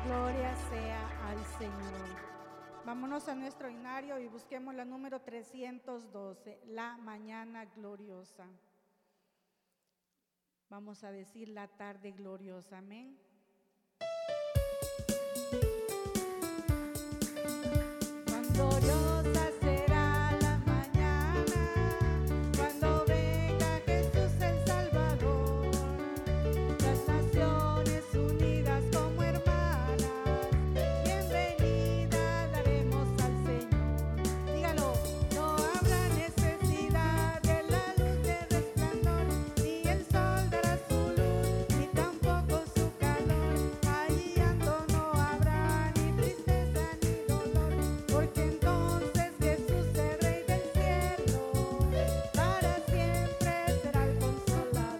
Gloria sea al Señor. Vámonos a nuestro himnario y busquemos la número 312, la mañana gloriosa. Vamos a decir la tarde gloriosa, amén. Gloriosa será la mañana cuando venga Jesús el Salvador. Las naciones unidas como hermanas, bienvenida daremos al Señor. Dígalo, no habrá necesidad de la luz de resplandor, ni el sol dará su luz, ni tampoco su calor. Allí llanto no habrá, ni tristeza ni dolor, porque entonces Jesús, el Rey del cielo, para siempre será el consolador.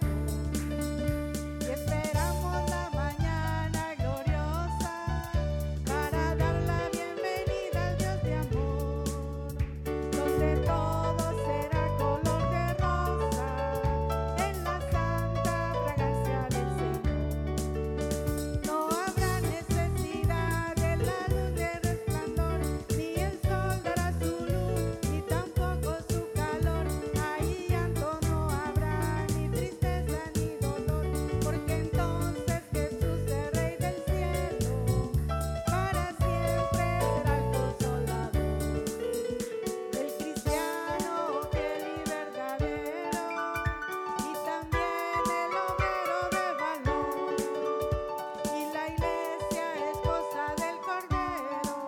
Y esperamos la mañana gloriosa para dar la bienvenida al Dios de amor, donde todo será color de rosa en la santa fragancia del Señor. No habrá necesidad de la luz de resplandor, ni el sol dará su luz, ni tampoco su calor. Ahí llanto no habrá, ni tristeza ni dolor, porque entonces Jesús, el Rey del cielo, para siempre será el consolador. El cristiano fiel y verdadero, y también el obrero de valor, y la iglesia esposa del Cordero,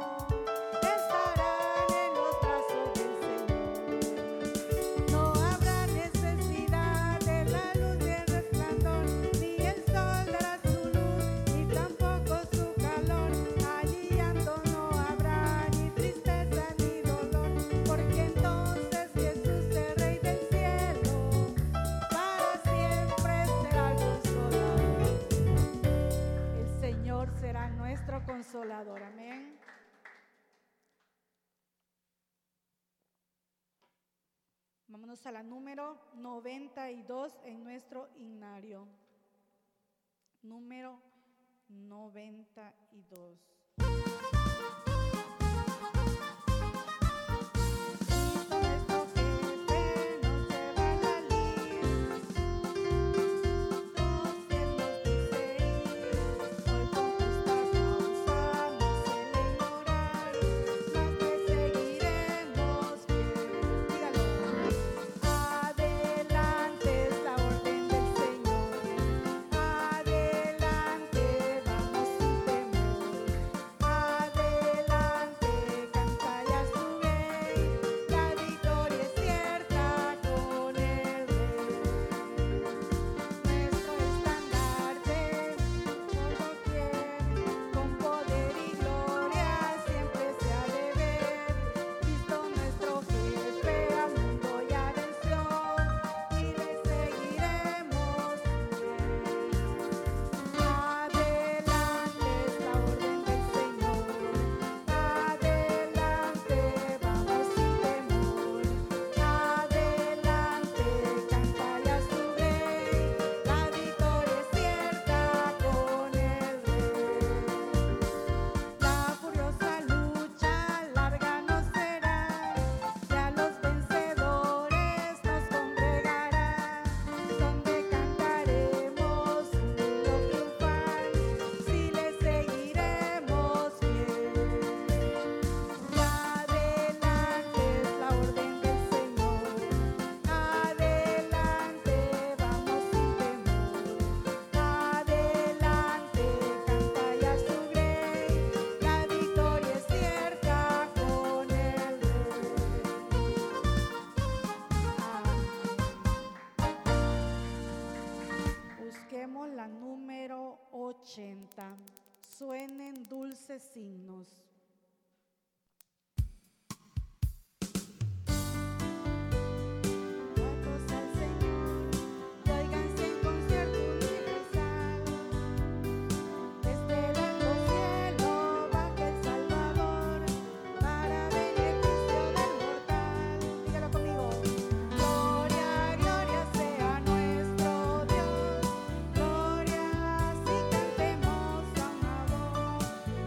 estarán en los brazos del Señor. No habrá necesidad de la luz de resplandor, ni el sol dará su luz, ni tampoco su calor. Allí llanto no habrá, ni tristeza ni dolor, porque entonces Jesús, el Rey del cielo, para siempre será el consolador. El Señor será nuestro consolador, amén. Vámonos a la número 92 en nuestro himnario. Número 92. Nuestro jefe nos lleva la lid, 12 nos dice ir, hoy con justa causa nos suele ignorar, mas le seguiremos fiel. Dígalo. Adelante es la orden del Señor, adelante vamos sin temor, adelante canta ya su rey, la victoria es cierta con el Rey. Nuestro estandarte por doquier, con poder y gloria siempre se ha de ver. Cristo nuestro jefe al mundo ya venció, y le seguiremos fiel. Adelante es la orden del Señor, adelante vamos sin temor, adelante canta ya su rey, la victoria es cierta con el Rey. La furiosa lucha larga no será, ya los vencedores nos congregará, donde cantaremos un himno triunfal, si le seguiremos fiel. Adelante es la orden del Señor, adelante vamos sin temor, adelante canta ya su rey, la victoria es cierta con el Rey. Busquemos la número 80. Suenen dulces signos. Altos al Señor, y óiganse en concierto universal. Desde el alto cielo baja el Salvador, para beneficio del mortal. Dígalo conmigo. Gloria, gloria sea nuestro Dios, gloria, si cantemos a una voz.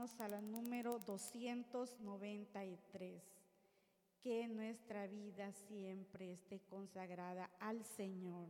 Vamos a la número 293. Que nuestra vida siempre esté consagrada al Señor.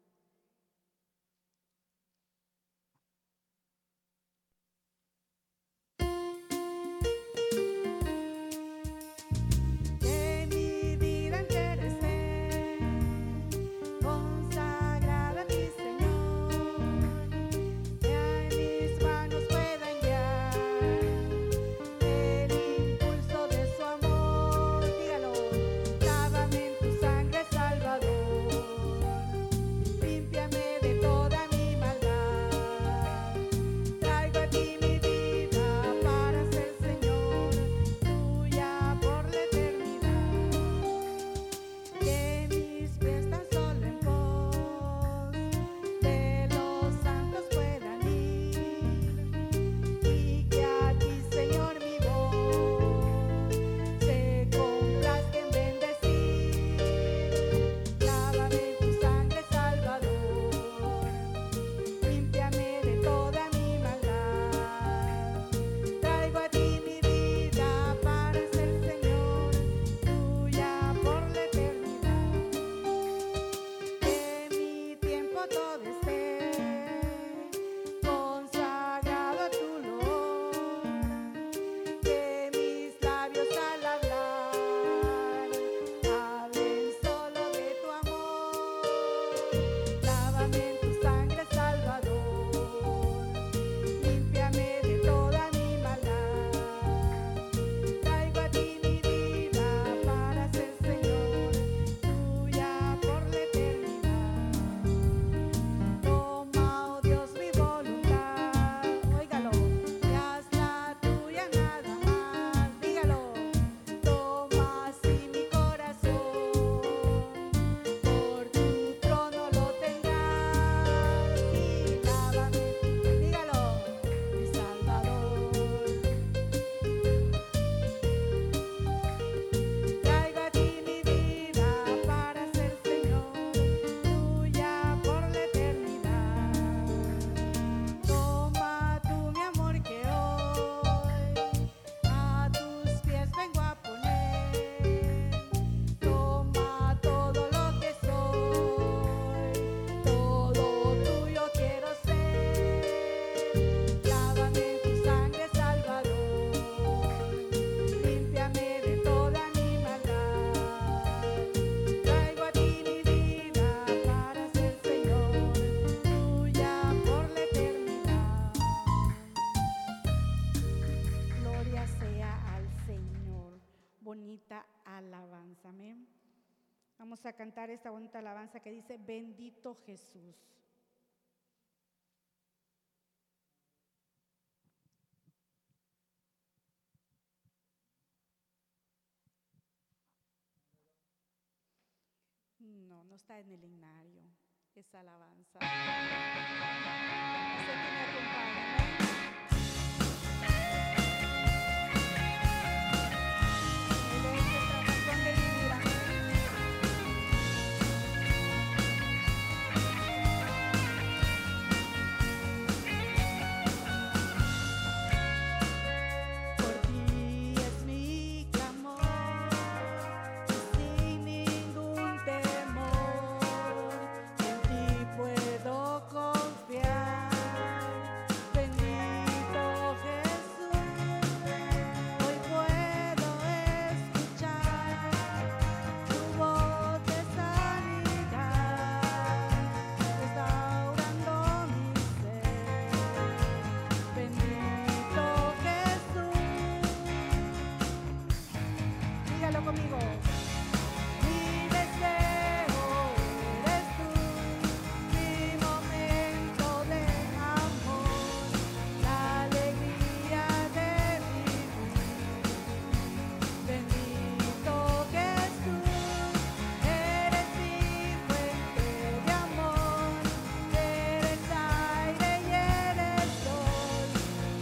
Alabanza, amén. Vamos a cantar esta bonita alabanza que dice: bendito Jesús. No, no está en el himnario esa alabanza. Sé que me acompaña, ¿no?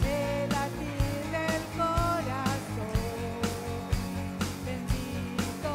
Bendito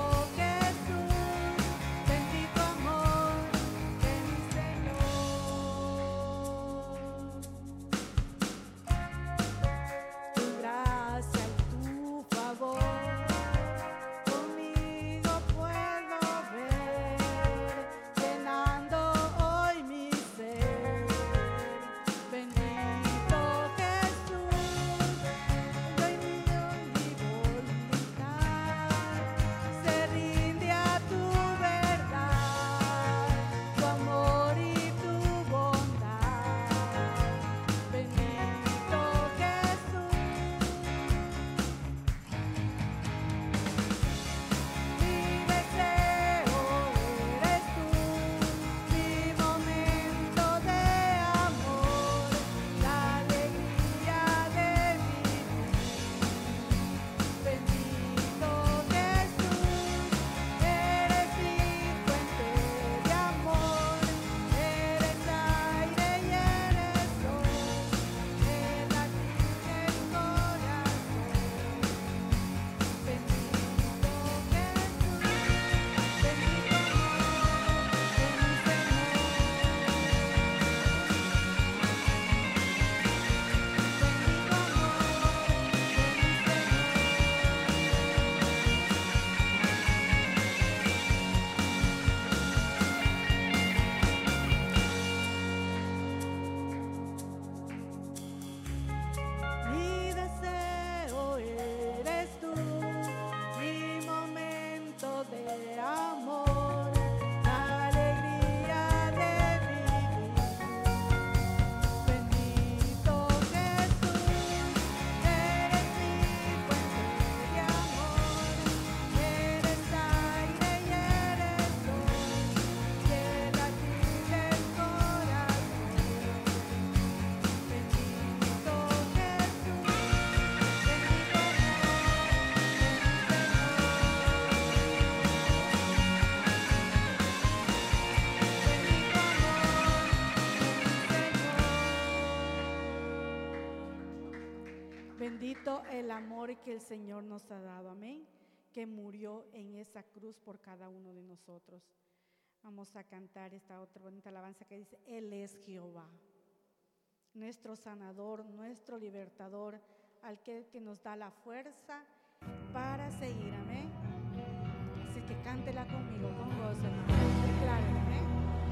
Bendito el amor que el Señor nos ha dado, amén, que murió en esa cruz por cada uno de nosotros. Vamos a cantar esta otra bonita alabanza que dice: Él es Jehová, nuestro sanador, nuestro libertador, al que nos da la fuerza para seguir, amén. Así que cántela conmigo, con gozo, hermano. Declárela, amén.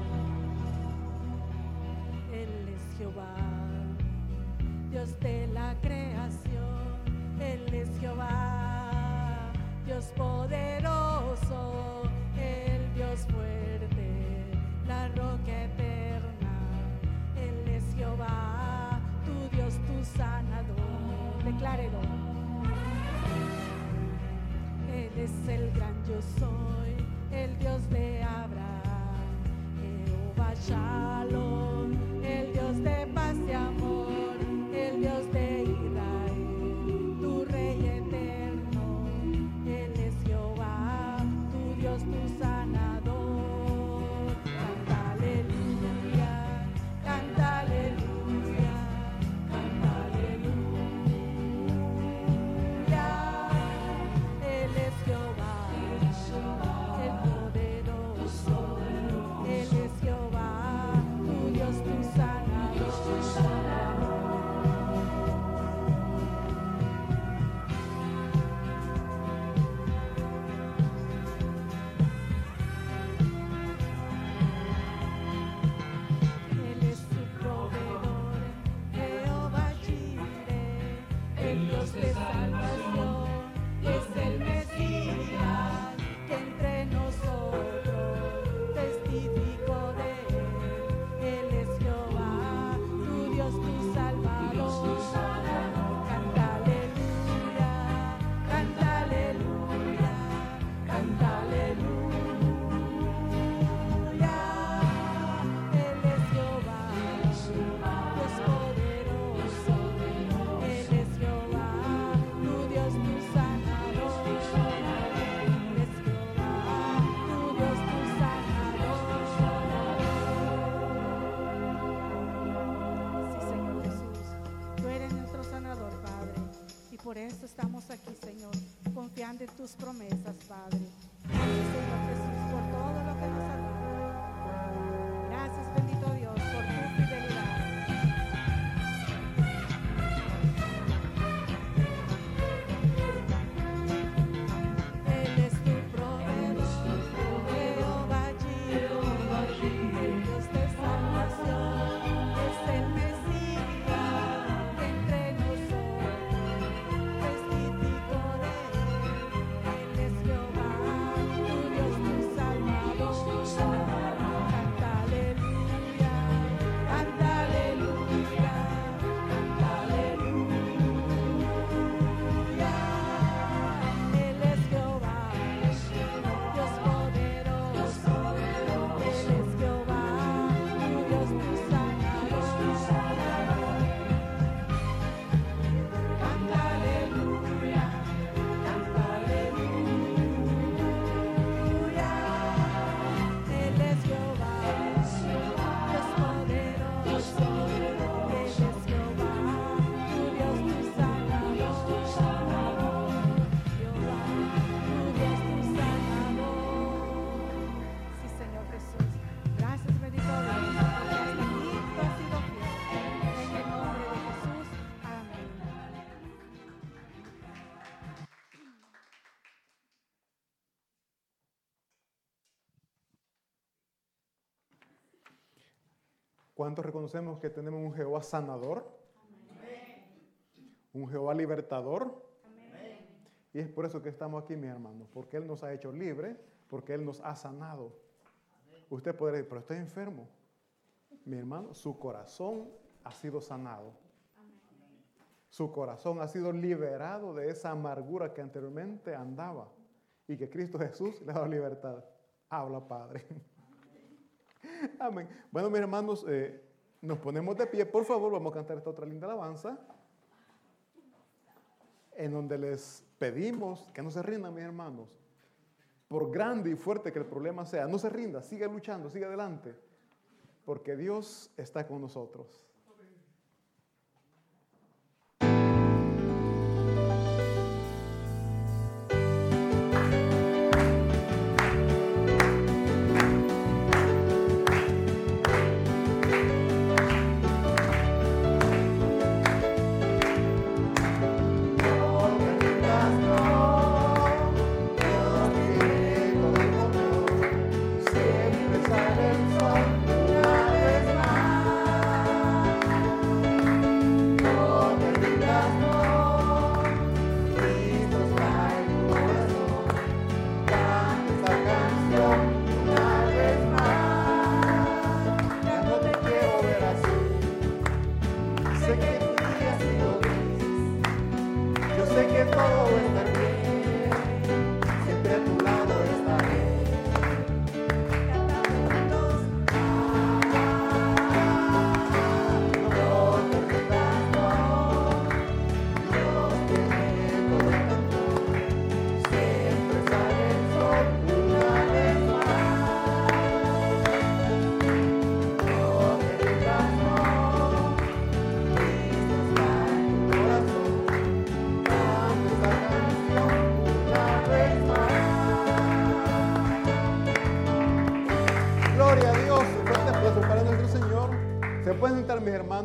Él es Jehová, Dios de la creación. Él es Jehová, Dios poderoso, el Dios fuerte, la roca eterna. Él es Jehová, tu Dios, tu sanador. Declárelo. Él es el gran yo soy, el Dios de Abraham, Jehová Shalom, el Dios de paz y amor, el Dios de Israel, tu Rey eterno. Él es Jehová, tu Dios, tu sanador. Canta aleluya, canta aleluya, canta aleluya. Él es Jehová, el poderoso. Él es Jehová, tu Dios, tu sanador. Él es su proveedor, Jehová Jireh, el Dios de salvación, es el Mesías que entre nosotros testificó de él. Él es Jehová, tu Dios, tu Salvador. Canta aleluya, canta aleluya, canta aleluya. Él es Jehová, Dios poderoso. Él es Jehová, tu Dios, tu sanador. Él es Jehová, tu Dios, tu sanador. Sí, Señor Jesús, tú eres nuestro sanador, Padre, y por eso estamos aquí, Señor, confiando en tus promesas, Padre. Gracias, Señor Jesús, por todo lo que nos has dado. Gracias, bendito Dios, por tu fidelidad. Él es tu proveedor, Jehová Jireh, el Dios de salvación, es el Mesías que entre nosotros testificó de él. Él es Jehová, tu Dios, tu Salvador. Canta aleluya, canta aleluya, canta aleluya. Él es Jehová, Dios poderoso. Él es Jehová, tu Dios, tu sanador. Canta aleluya, canta aleluya. Él es Jehová, Dios poderoso. Él es Jehová, tu Dios, tu sanador. Jehová, tu Dios, tu sanador. Sí, Señor Jesús. Gracias, bendito Dios, porque hasta aquí tú has sido fiel. En el nombre de Jesús. Amén. ¿Cuántos reconocemos que tenemos un Jehová sanador? Un Jehová libertador. Y es por eso que estamos aquí, mis hermanos, porque Él nos ha hecho libres, porque Él nos ha sanado. Usted podrá decir, pero estoy enfermo. Mi hermano, su corazón ha sido sanado. Su corazón ha sido liberado de esa amargura que anteriormente andaba y que Cristo Jesús le ha dado libertad. Habla, Padre. Amén. Bueno, mis hermanos, nos ponemos de pie. Por favor, vamos a cantar esta otra linda alabanza en donde les pedimos que no se rindan, mis hermanos. Por grande y fuerte que el problema sea, no se rinda, siga luchando, siga adelante, porque Dios está con nosotros.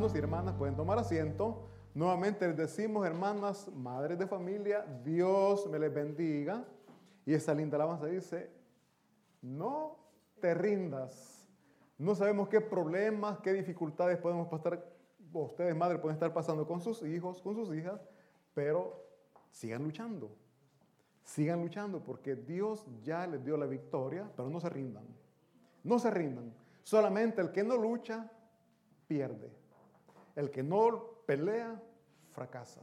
hermanos y hermanas pueden tomar asiento. Nuevamente les decimos, hermanas, madres de familia, Dios me les bendiga. Y esa linda alabanza dice, no te rindas. No sabemos qué problemas, qué dificultades podemos pasar, ustedes madres pueden estar pasando con sus hijos, con sus hijas, pero sigan luchando. Sigan luchando porque Dios ya les dio la victoria, pero no se rindan. No se rindan. Solamente el que no lucha, pierde. El que no pelea, fracasa.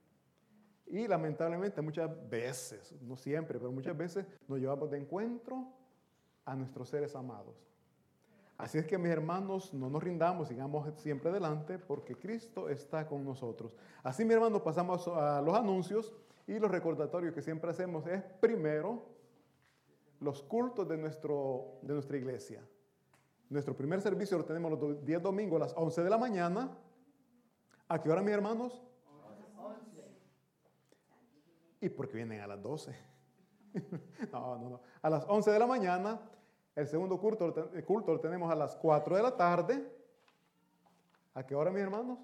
Y lamentablemente muchas veces, no siempre, pero muchas veces nos llevamos de encuentro a nuestros seres amados. Así es que mis hermanos, no nos rindamos, sigamos siempre adelante porque Cristo está con nosotros. Así mis hermanos, pasamos a los anuncios y los recordatorios que siempre hacemos es primero los cultos de nuestra iglesia. Nuestro primer servicio lo tenemos los 10 domingos a las 11 de la mañana. ¿A qué hora, mis hermanos? 11. ¿Y por qué vienen a las 12? No. A las 11 de la mañana. El segundo culto lo tenemos a las 4 de la tarde. ¿A qué hora, mis hermanos?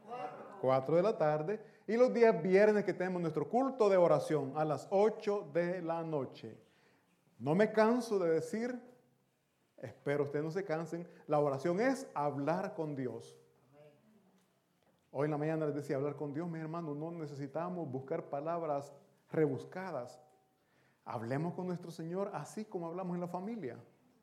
4 de la tarde. Y los días viernes que tenemos nuestro culto de oración a las 8 de la noche. No me canso de decir, espero ustedes no se cansen, la oración es hablar con Dios. Hoy en la mañana les decía, hablar con Dios, mis hermanos, no necesitamos buscar palabras rebuscadas. Hablemos con nuestro Señor así como hablamos en la familia.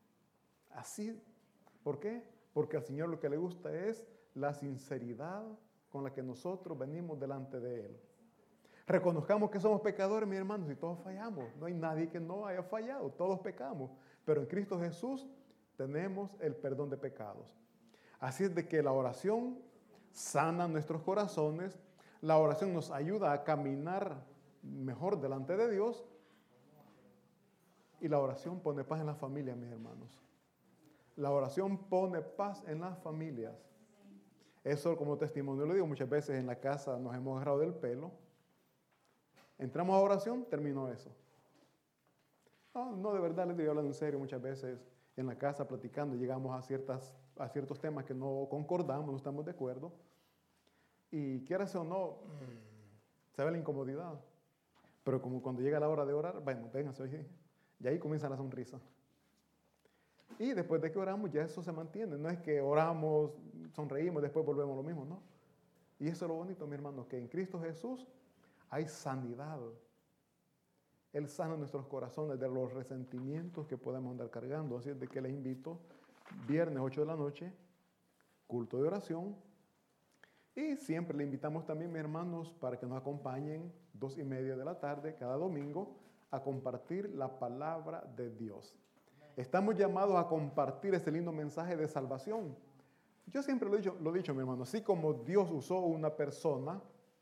Así. ¿Por qué? Porque al Señor lo que le gusta es la sinceridad con la que nosotros venimos delante de Él. Reconozcamos que somos pecadores, mis hermanos, y todos fallamos. No hay nadie que no haya fallado, todos pecamos. Pero en Cristo Jesús tenemos el perdón de pecados. Así es de que la oración sana nuestros corazones, la oración nos ayuda a caminar mejor delante de Dios y la oración pone paz en las familias, mis hermanos. La oración pone paz en las familias. Eso como testimonio lo digo, muchas veces en la casa nos hemos agarrado del pelo. Entramos a oración, terminó eso. No, de verdad les digo, hablando en serio, muchas veces en la casa platicando llegamos a ciertos temas que no concordamos, no estamos de acuerdo. Y quieras o no, se ve la incomodidad. Pero como cuando llega la hora de orar, bueno, vénganse hoy. Y ahí comienza la sonrisa. Y después de que oramos, ya eso se mantiene. No es que oramos, sonreímos, después volvemos a lo mismo, ¿no? Y eso es lo bonito, mi hermano, que en Cristo Jesús hay sanidad. Él sana nuestros corazones de los resentimientos que podemos andar cargando. Así es de que les invito, viernes 8 de la noche, culto de oración. Y siempre le invitamos también, mis hermanos, para que nos acompañen 2:30 de la tarde, cada domingo, a compartir la palabra de Dios. Estamos llamados a compartir ese lindo mensaje de salvación. Yo siempre lo he dicho, mi hermano, así como Dios usó una persona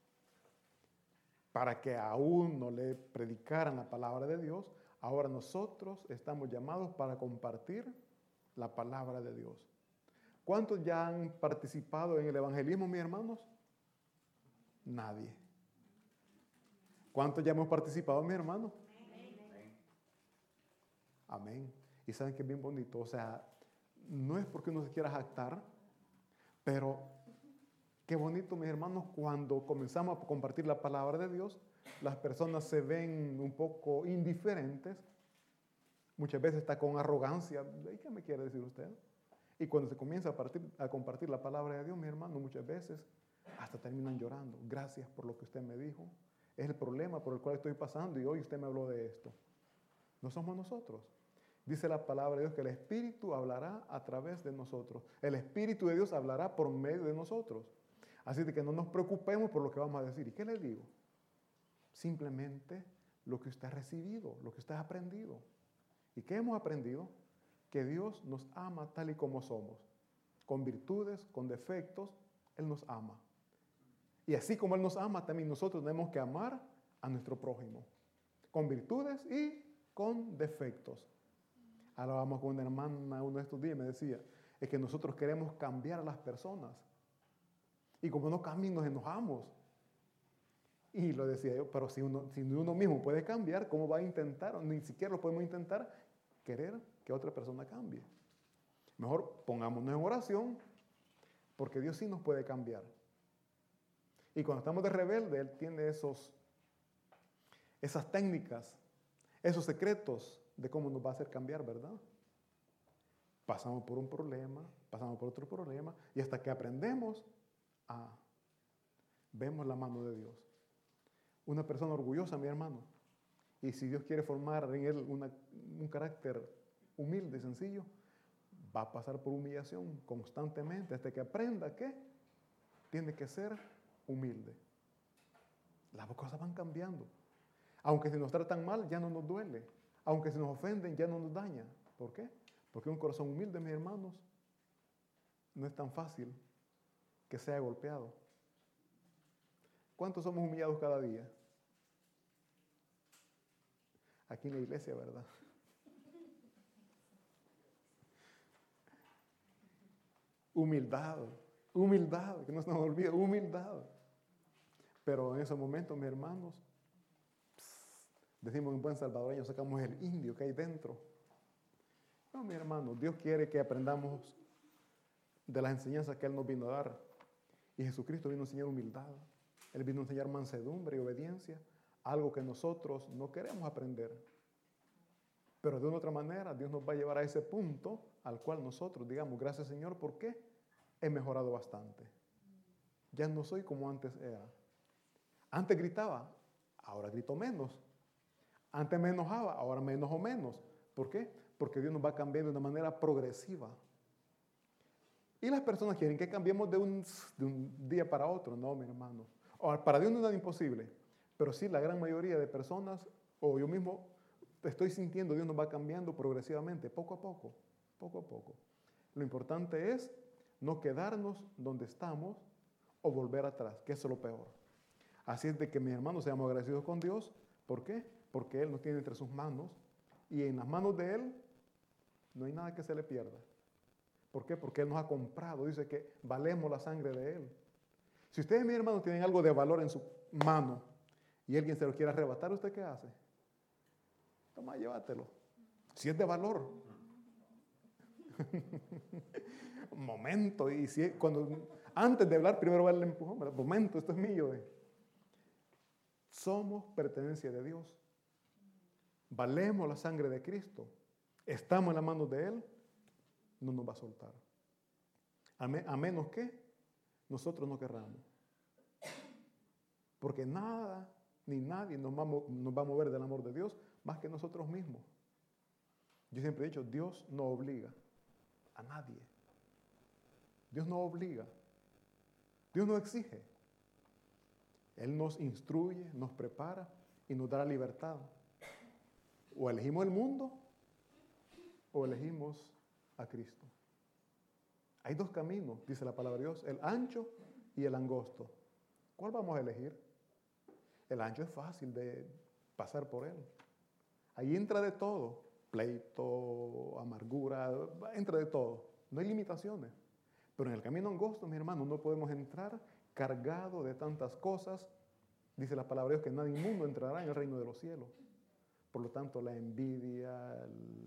para que a uno le predicaran la palabra de Dios, ahora nosotros estamos llamados para compartir la palabra de Dios. ¿Cuántos ya han participado en el evangelismo, mis hermanos? Nadie. ¿Cuántos ya hemos participado, mis hermanos? Amén. Y saben que es bien bonito, o sea, no es porque uno se quiera jactar, pero qué bonito, mis hermanos, cuando comenzamos a compartir la palabra de Dios, las personas se ven un poco indiferentes, muchas veces está con arrogancia. ¿Y qué me quiere decir usted? Y cuando se comienza a compartir la palabra de Dios, mis hermanos, muchas veces hasta terminan llorando. Gracias por lo que usted me dijo. Es el problema por el cual estoy pasando y hoy usted me habló de esto. No somos nosotros. Dice la palabra de Dios que el Espíritu hablará a través de nosotros. El Espíritu de Dios hablará por medio de nosotros. Así de que no nos preocupemos por lo que vamos a decir. ¿Y qué les digo? Simplemente lo que usted ha recibido, lo que usted ha aprendido. ¿Y qué hemos aprendido? Que Dios nos ama tal y como somos. Con virtudes, con defectos, Él nos ama. Y así como Él nos ama, también nosotros tenemos que amar a nuestro prójimo. Con virtudes y con defectos. Hablábamos con una hermana uno de estos días y me decía, es que nosotros queremos cambiar a las personas. Y como no cambian, nos enojamos. Y lo decía yo, pero si uno mismo puede cambiar, ¿cómo va a intentar? O ni siquiera lo podemos intentar querer que otra persona cambie. Mejor pongámonos en oración, porque Dios sí nos puede cambiar. Y cuando estamos de rebelde, Él tiene esas técnicas, esos secretos de cómo nos va a hacer cambiar, ¿verdad? Pasamos por un problema, pasamos por otro problema, y hasta que aprendemos, vemos la mano de Dios. Una persona orgullosa, mi hermano, y si Dios quiere formar en él un carácter humilde y sencillo, va a pasar por humillación constantemente hasta que aprenda que tiene que ser humilde. Las cosas van cambiando. Aunque si nos tratan mal, ya no nos duele. Aunque si nos ofenden, ya no nos daña. ¿Por qué? Porque un corazón humilde, mis hermanos, no es tan fácil que sea golpeado. ¿Cuántos somos humillados cada día? Aquí en la iglesia, ¿verdad? Humildad, humildad, que no se nos olvide, humildad. Pero en esos momentos, mis hermanos, decimos en buen salvadoreño, sacamos el indio que hay dentro. No, mi hermano, Dios quiere que aprendamos de las enseñanzas que Él nos vino a dar. Y Jesucristo vino a enseñar humildad. Él vino a enseñar mansedumbre y obediencia, algo que nosotros no queremos aprender. Pero de una otra manera, Dios nos va a llevar a ese punto al cual nosotros digamos, gracias Señor, porque he mejorado bastante. Ya no soy como antes era. Antes gritaba, ahora grito menos. Antes me enojaba, ahora me enojo menos. ¿Por qué? Porque Dios nos va cambiando de una manera progresiva. Y las personas quieren que cambiemos de un día para otro. No, mi hermano. Para Dios no es nada imposible. Pero sí, la gran mayoría de personas, o yo mismo, estoy sintiendo, Dios nos va cambiando progresivamente, poco a poco, poco a poco. Lo importante es no quedarnos donde estamos o volver atrás, que eso es lo peor. Así es de que, mis hermanos, seamos agradecidos con Dios. ¿Por qué? Porque Él nos tiene entre sus manos y en las manos de Él no hay nada que se le pierda. ¿Por qué? Porque Él nos ha comprado. Dice que valemos la sangre de Él. Si ustedes, mis hermanos, tienen algo de valor en su mano y alguien se lo quiere arrebatar, ¿usted qué hace? Toma, llévatelo. Si es de valor. Un momento. Y si antes de hablar, primero va el empujón. Un momento, esto es mío. Somos pertenencia de Dios. Valemos la sangre de Cristo. Estamos en las manos de Él. No nos va a soltar. A menos que nosotros no querramos. Porque nada ni nadie nos va a mover del amor de Dios más que nosotros mismos. Yo siempre he dicho, Dios no obliga a nadie. Dios no obliga. Dios no exige. Él nos instruye, nos prepara y nos da la libertad. O elegimos el mundo o elegimos a Cristo. Hay dos caminos, dice la palabra de Dios, el ancho y el angosto. ¿Cuál vamos a elegir? El ancho es fácil de pasar por él. Ahí entra de todo, pleito, amargura, entra de todo. No hay limitaciones. Pero en el camino angosto, mi hermano, no podemos entrar cargado de tantas cosas. Dice la palabra de Dios que nadie inmundo entrará en el reino de los cielos. Por lo tanto, la envidia,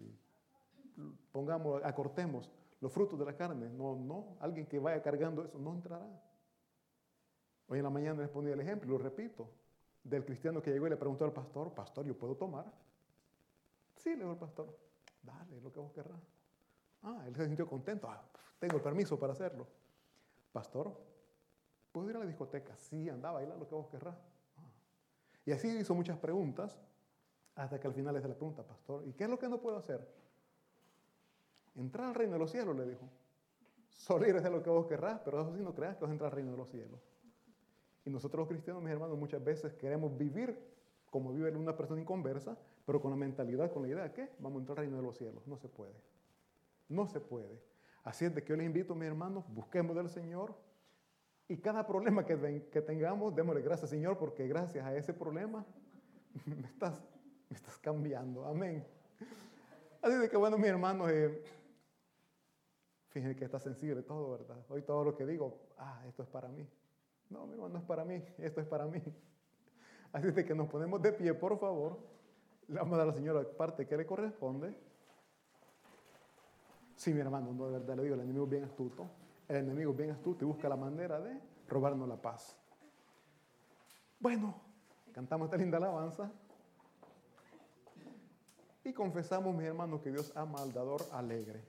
acortemos los frutos de la carne. No, alguien que vaya cargando eso no entrará. Hoy en la mañana les ponía el ejemplo, lo repito, del cristiano que llegó y le preguntó al pastor, pastor, ¿yo puedo tomar? Sí, le dijo el pastor, dale, lo que vos querrás. Él se sintió contento, tengo el permiso para hacerlo. Pastor, ¿puedo ir a la discoteca? Sí, anda a bailar lo que vos querrás. Y así hizo muchas preguntas, hasta que al final le hace la pregunta, pastor, ¿y qué es lo que no puedo hacer? Entrar al reino de los cielos, le dijo. Solo ir a hacer lo que vos querrás, pero eso sí no creas que vas a entrar al reino de los cielos. Y nosotros los cristianos, mis hermanos, muchas veces queremos vivir como vive una persona inconversa, pero con la mentalidad, con la idea de que vamos a entrar al reino de los cielos. No se puede. No se puede. Así es de que yo les invito, mis hermanos, busquemos del Señor y cada problema que tengamos, démosle gracias, Señor, porque gracias a ese problema me estás cambiando. Amén. Así de que, bueno, mis hermanos, fíjense que está sensible todo, ¿verdad? Hoy todo lo que digo, esto es para mí. No, mi hermano, no es para mí, esto es para mí. Así de que nos ponemos de pie, por favor. Le vamos a dar a la señora la parte que le corresponde. Sí, mi hermano, no, de verdad le digo, el enemigo es bien astuto. El enemigo bien astuto y busca la manera de robarnos la paz. Bueno, cantamos esta linda alabanza y confesamos, mis hermanos, que Dios ama al dador alegre.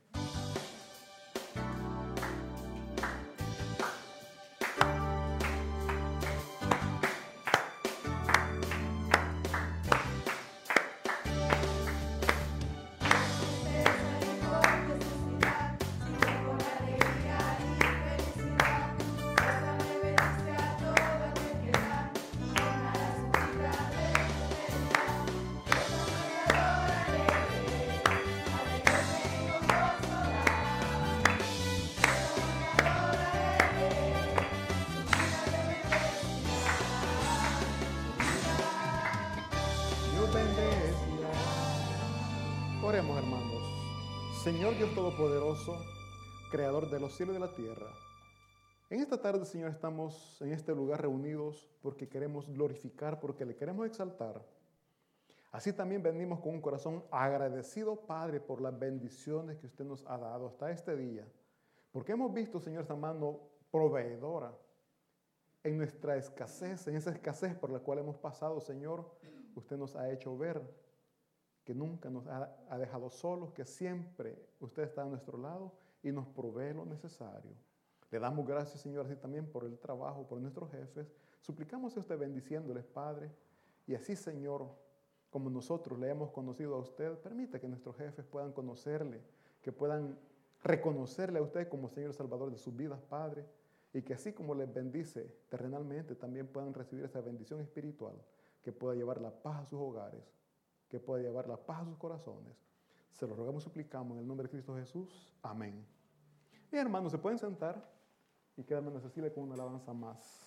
Oremos, hermanos. Señor Dios Todopoderoso, Creador de los cielos y de la tierra, en esta tarde, Señor, estamos en este lugar reunidos porque queremos glorificar, porque le queremos exaltar. Así también venimos con un corazón agradecido, Padre, por las bendiciones que usted nos ha dado hasta este día. Porque hemos visto, Señor, esa mano proveedora en nuestra escasez, en esa escasez por la cual hemos pasado, Señor. Usted nos ha hecho ver que nunca nos ha dejado solos, que siempre usted está a nuestro lado y nos provee lo necesario. Le damos gracias, Señor, así también por el trabajo, por nuestros jefes. Suplicamos a usted bendiciéndoles, Padre, y así, Señor, como nosotros le hemos conocido a usted, permita que nuestros jefes puedan conocerle, que puedan reconocerle a usted como Señor Salvador de sus vidas, Padre, y que así como les bendice terrenalmente, también puedan recibir esa bendición espiritual, que pueda llevar la paz a sus hogares, que pueda llevar la paz a sus corazones. Se lo rogamos, suplicamos en el nombre de Cristo Jesús. Amén. Bien, hermanos, se pueden sentar y quédame en Cecilia con una alabanza más.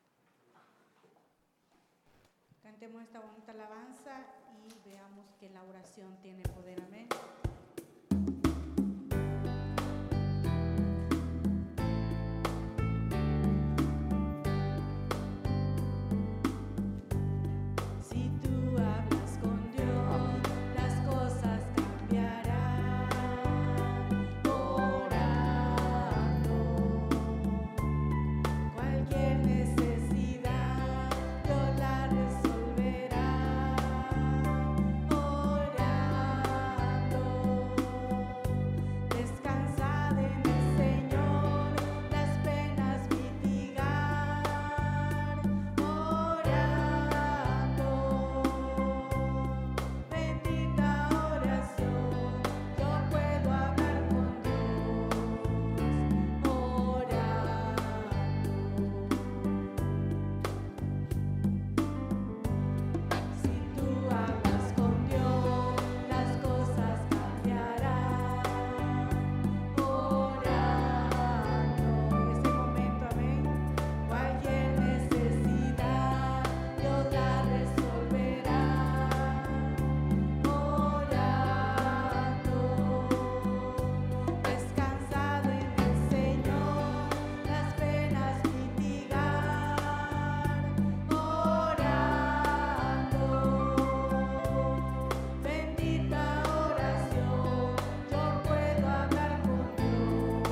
Cantemos esta bonita alabanza y veamos que la oración tiene poder. Amén. Si tú hablas con Dios, las cosas cambiarán. Orando, cualquier necesidad Dios la resolverá. Orando, descansad en el Señor, las penas mitigar. Orando, bendita oración, yo puedo hablar con Dios. Orando, si tú hablas con Dios, las cosas cambiarán. Orando, en este momento, amén. Cualquier necesidad Dios la resolverá. Orando, descansad en el Señor, las penas mitigar. Orando, bendita oración, yo puedo hablar con Dios.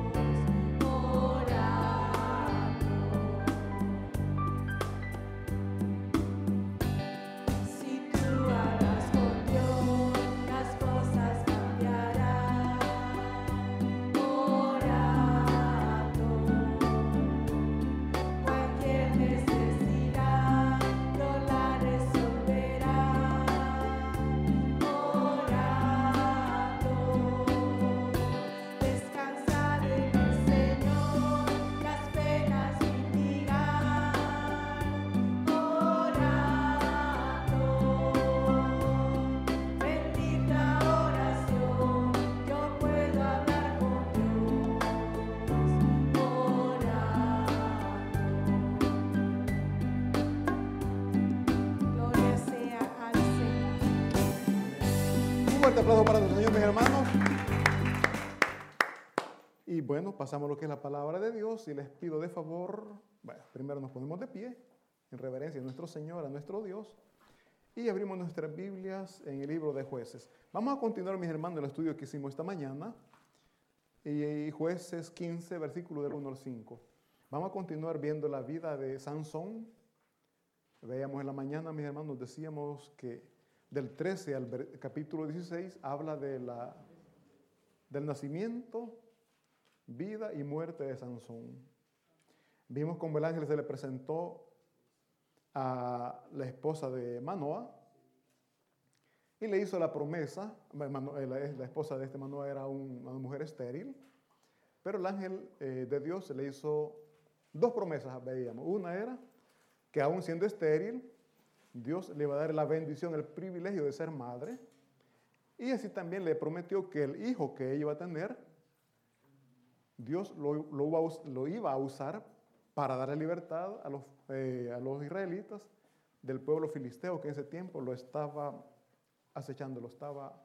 Orando, si tú hablas con Dios, las cosas cambiarán. Orando, cualquier necesidad Dios la resolverá. Orando, descansad en el Señor, las penas mitigar. Orando, bendita oración, yo puedo hablar con Dios. Orando, gloria sea al Señor. Un fuerte aplauso para nuestro Señor, mis hermanos. Y bueno, pasamos a lo que es la palabra de Dios y les pido de favor, bueno, primero nos ponemos de pie en reverencia a nuestro Señor, a nuestro Dios, y abrimos nuestras Biblias en el libro de Jueces. Vamos a continuar, mis hermanos, el estudio que hicimos esta mañana y Jueces 15, versículo del 1 al 5. Vamos a continuar viendo la vida de Sansón. Veíamos en la mañana, mis hermanos, decíamos que del 13 al capítulo 16 habla del nacimiento, vida y muerte de Sansón. Vimos cómo el ángel se le presentó a la esposa de Manoa y le hizo la promesa. La esposa de este Manoa era una mujer estéril, pero el ángel de Dios le hizo dos promesas, veíamos. Una era que aún siendo estéril, Dios le iba a dar la bendición, el privilegio de ser madre, y así también le prometió que el hijo que ella iba a tener, Dios lo iba a usar para darle libertad a los israelitas del pueblo filisteo que en ese tiempo lo estaba acechando, lo estaba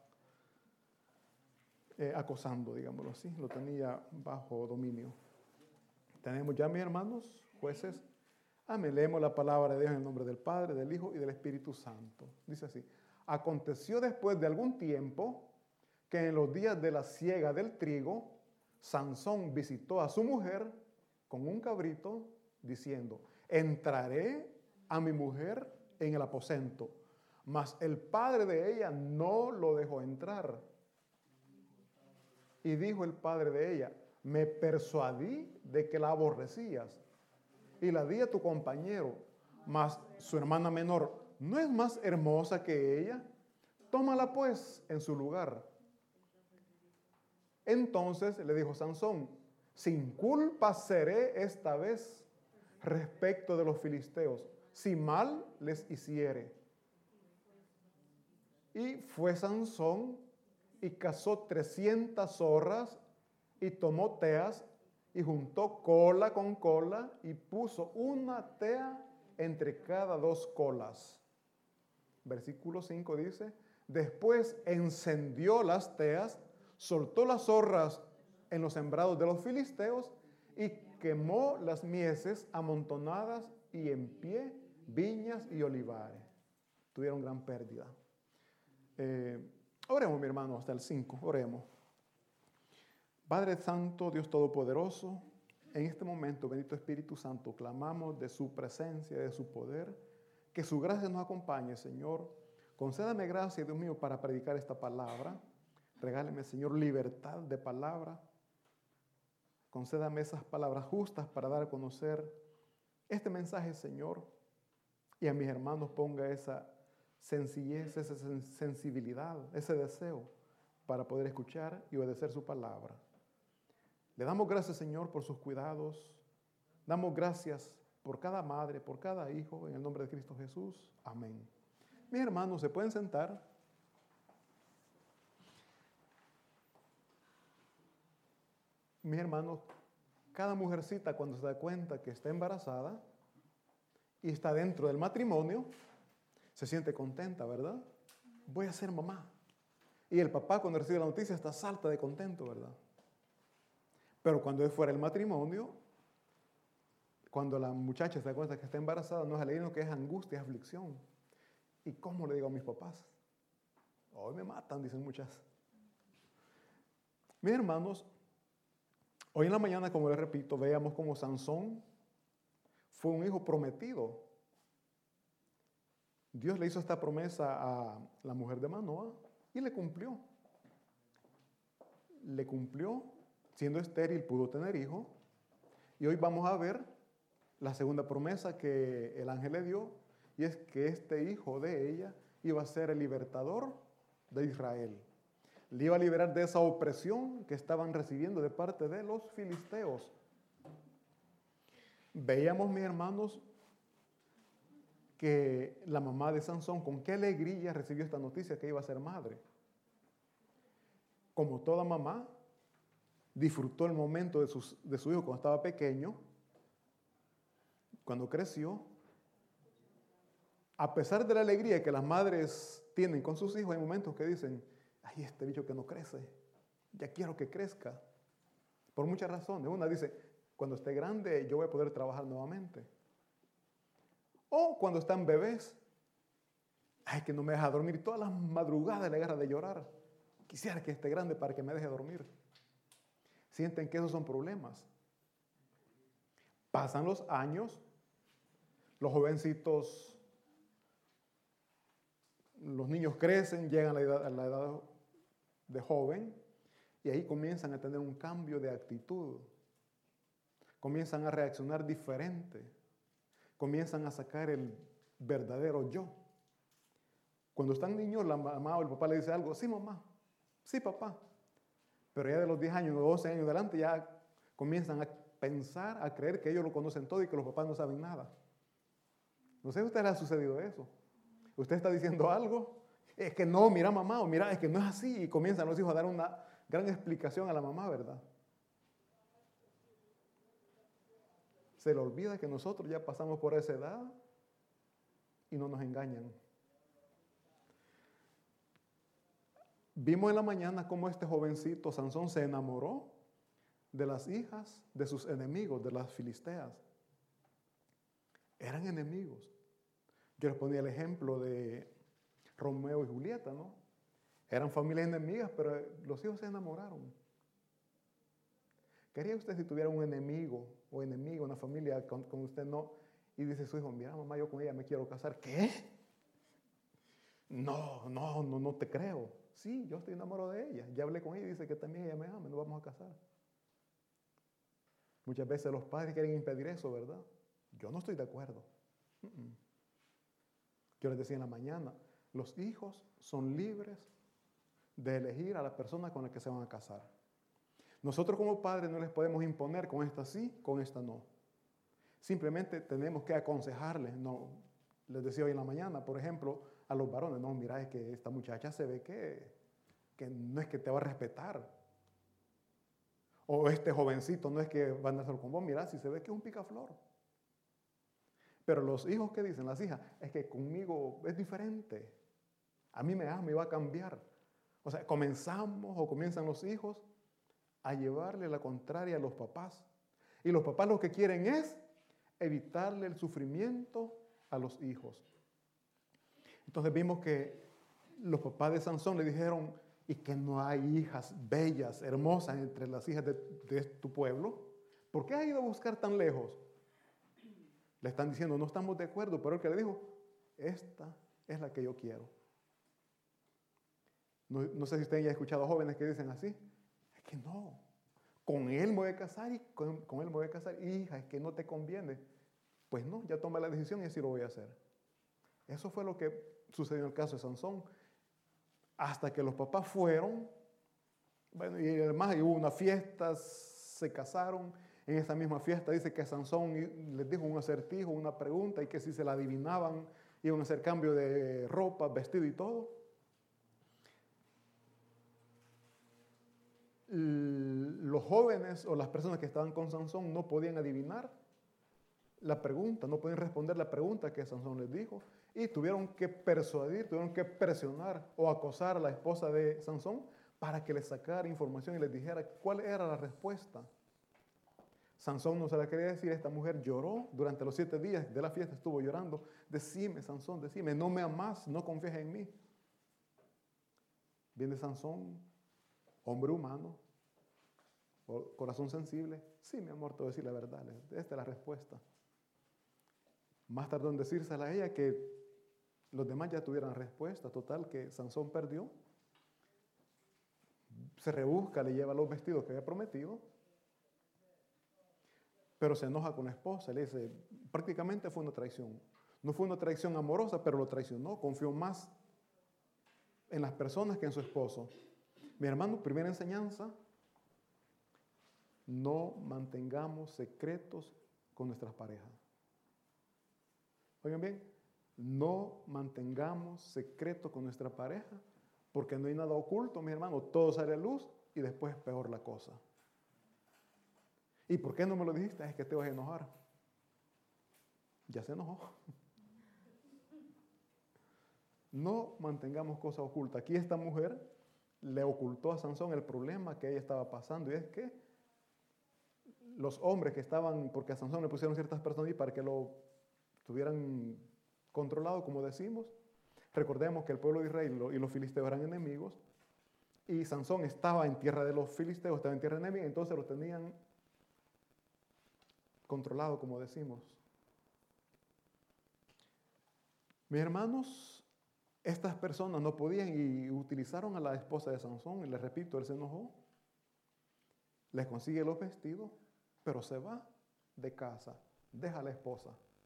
acosando, digámoslo así, lo tenía bajo dominio. Tenemos ya, mis hermanos, Jueces. Amén. Leemos la palabra de Dios en el nombre del Padre, del Hijo y del Espíritu Santo. Dice así: aconteció después de algún tiempo que en los días de la siega del trigo, Sansón visitó a su mujer con un cabrito, diciendo: entraré a mi mujer en el aposento. Mas el padre de ella no lo dejó entrar. Y dijo el padre de ella: me persuadí de que la aborrecías y la di a tu compañero, mas su hermana menor no es más hermosa que ella. Tómala pues en su lugar. Entonces le dijo Sansón: sin culpa seré esta vez respecto de los filisteos, si mal les hiciere. Y fue Sansón y cazó 300 zorras y tomó teas y juntó cola con cola y puso una tea entre cada dos colas. Versículo 5 dice: después encendió las teas, soltó las zorras en los sembrados de los filisteos y quemó las mieses amontonadas y en pie viñas y olivares. Tuvieron gran pérdida. Oremos, mi hermano, hasta el 5. Oremos. Padre Santo, Dios Todopoderoso, en este momento, bendito Espíritu Santo, clamamos de su presencia, de su poder, que su gracia nos acompañe, Señor. Concédame gracia, Dios mío, para predicar esta palabra. Regáleme, Señor, libertad de palabra. Concédame esas palabras justas para dar a conocer este mensaje, Señor. Y a mis hermanos ponga esa sencillez, esa sensibilidad, ese deseo para poder escuchar y obedecer su palabra. Le damos gracias, Señor, por sus cuidados. Damos gracias por cada madre, por cada hijo, en el nombre de Cristo Jesús. Amén. Mis hermanos, ¿se pueden sentar? Mis hermanos, cada mujercita cuando se da cuenta que está embarazada y está dentro del matrimonio, se siente contenta, ¿verdad? Voy a ser mamá. Y el papá cuando recibe la noticia está salta de contento, ¿verdad? Pero cuando es fuera del matrimonio, cuando la muchacha se da cuenta que está embarazada, no es alegría, que es angustia, es aflicción. ¿Y cómo le digo a mis papás? Hoy me matan, dicen muchas. Mis hermanos, hoy en la mañana, como les repito, veíamos cómo Sansón fue un hijo prometido. Dios le hizo esta promesa a la mujer de Manoa y le cumplió. Le cumplió, siendo estéril pudo tener hijo. Y hoy vamos a ver la segunda promesa que el ángel le dio, y es que este hijo de ella iba a ser el libertador de Israel. Le iba a liberar de esa opresión que estaban recibiendo de parte de los filisteos. Veíamos, mis hermanos, que la mamá de Sansón, con qué alegría recibió esta noticia que iba a ser madre. Como toda mamá, disfrutó el momento de su hijo cuando estaba pequeño, cuando creció. A pesar de la alegría que las madres tienen con sus hijos, hay momentos que dicen: ay, este bicho que no crece, ya quiero que crezca. Por muchas razones. Una dice: cuando esté grande yo voy a poder trabajar nuevamente. O cuando están bebés: ay, que no me deja dormir, todas las madrugadas le agarra de llorar. Quisiera que esté grande para que me deje dormir. Sienten que esos son problemas. Pasan los años, los jovencitos, los niños crecen, llegan a la edad de joven y ahí comienzan a tener un cambio de actitud. Comienzan a reaccionar diferente. Comienzan a sacar el verdadero yo. Cuando están niños, la mamá o el papá le dice algo, sí mamá, sí papá. Pero ya de los 10 años o 12 años adelante ya comienzan a pensar, a creer que ellos lo conocen todo y que los papás no saben nada. No sé si a usted le ha sucedido eso. Usted está diciendo algo, es que no, mira mamá, o mira, es que no es así. Y comienzan los hijos a dar una gran explicación a la mamá, ¿verdad? Se le olvida que nosotros ya pasamos por esa edad y no nos engañan. Vimos en la mañana cómo este jovencito Sansón se enamoró de las hijas de sus enemigos, de las filisteas. Eran enemigos. Yo les ponía el ejemplo de Romeo y Julieta, ¿no? Eran familias enemigas, pero los hijos se enamoraron. ¿Qué haría usted si tuviera un enemigo o enemiga, una familia con usted no? Y dice su hijo, mira mamá, yo con ella me quiero casar. ¿Qué? No te creo. Sí, yo estoy enamorado de ella. Ya hablé con ella y dice que también ella me ama, nos vamos a casar. Muchas veces los padres quieren impedir eso, ¿verdad? Yo no estoy de acuerdo. Yo les decía en la mañana, los hijos son libres de elegir a la persona con la que se van a casar. Nosotros como padres no les podemos imponer con esta sí, con esta no. Simplemente tenemos que aconsejarles. No, les decía hoy en la mañana, por ejemplo, a los varones, no, mira, es que esta muchacha se ve que no es que te va a respetar. O este jovencito no es que van a hacer con vos, mira, si se ve que es un picaflor. Pero los hijos, ¿qué dicen? Las hijas, es que conmigo es diferente. A mí me ama y va a cambiar. O sea, comienzan los hijos a llevarle la contraria a los papás. Y los papás lo que quieren es evitarle el sufrimiento a los hijos. Entonces vimos que los papás de Sansón le dijeron, y que no hay hijas bellas, hermosas entre las hijas de tu pueblo. ¿Por qué has ido a buscar tan lejos? Le están diciendo, no estamos de acuerdo, pero el que le dijo, esta es la que yo quiero. No sé si ustedes ya han escuchado jóvenes que dicen así, es que no, con él me voy a casar y con él me voy a casar, hija, es que no te conviene. Pues no, ya tomé la decisión y así lo voy a hacer. Eso fue lo que sucedió en el caso de Sansón. Hasta que los papás fueron, bueno, y además hubo una fiesta, se casaron. En esa misma fiesta dice que Sansón les dijo un acertijo, una pregunta, y que si se la adivinaban, iban a hacer cambio de ropa, vestido y todo. Los jóvenes o las personas que estaban con Sansón no podían adivinar la pregunta, no podían responder la pregunta que Sansón les dijo, y tuvieron que persuadir, tuvieron que presionar o acosar a la esposa de Sansón para que les sacara información y les dijera cuál era la respuesta. Sansón no se la quería decir, esta mujer lloró durante los 7 días de la fiesta, estuvo llorando. Decime, Sansón, decime, no me amás, no confías en mí. Viene Sansón, hombre humano, corazón sensible. Sí, mi amor, te voy a decir la verdad, esta es la respuesta. Más tardó en decírsela a ella que los demás ya tuvieran respuesta. Total, que Sansón perdió. Se rebusca, le lleva los vestidos que había prometido. Pero se enoja con la esposa, le dice, prácticamente fue una traición. No fue una traición amorosa, pero lo traicionó, confió más en las personas que en su esposo. Mi hermano, primera enseñanza, no mantengamos secretos con nuestras parejas. Oigan bien, no mantengamos secretos con nuestra pareja, porque no hay nada oculto, mi hermano, todo sale a luz y después es peor la cosa. ¿Y por qué no me lo dijiste? Es que te vas a enojar. Ya se enojó. No mantengamos cosas ocultas. Aquí esta mujer le ocultó a Sansón el problema que ella estaba pasando, y es que los hombres que estaban, porque a Sansón le pusieron ciertas personas y para que lo tuvieran controlado, como decimos. Recordemos que el pueblo de Israel y los filisteos eran enemigos, y Sansón estaba en tierra de los filisteos, estaba en tierra enemiga, entonces lo tenían controlado, como decimos. Mis hermanos, estas personas no podían y utilizaron a la esposa de Sansón, y les repito, él se enojó, les consigue los vestidos, pero se va de casa, deja a la esposa.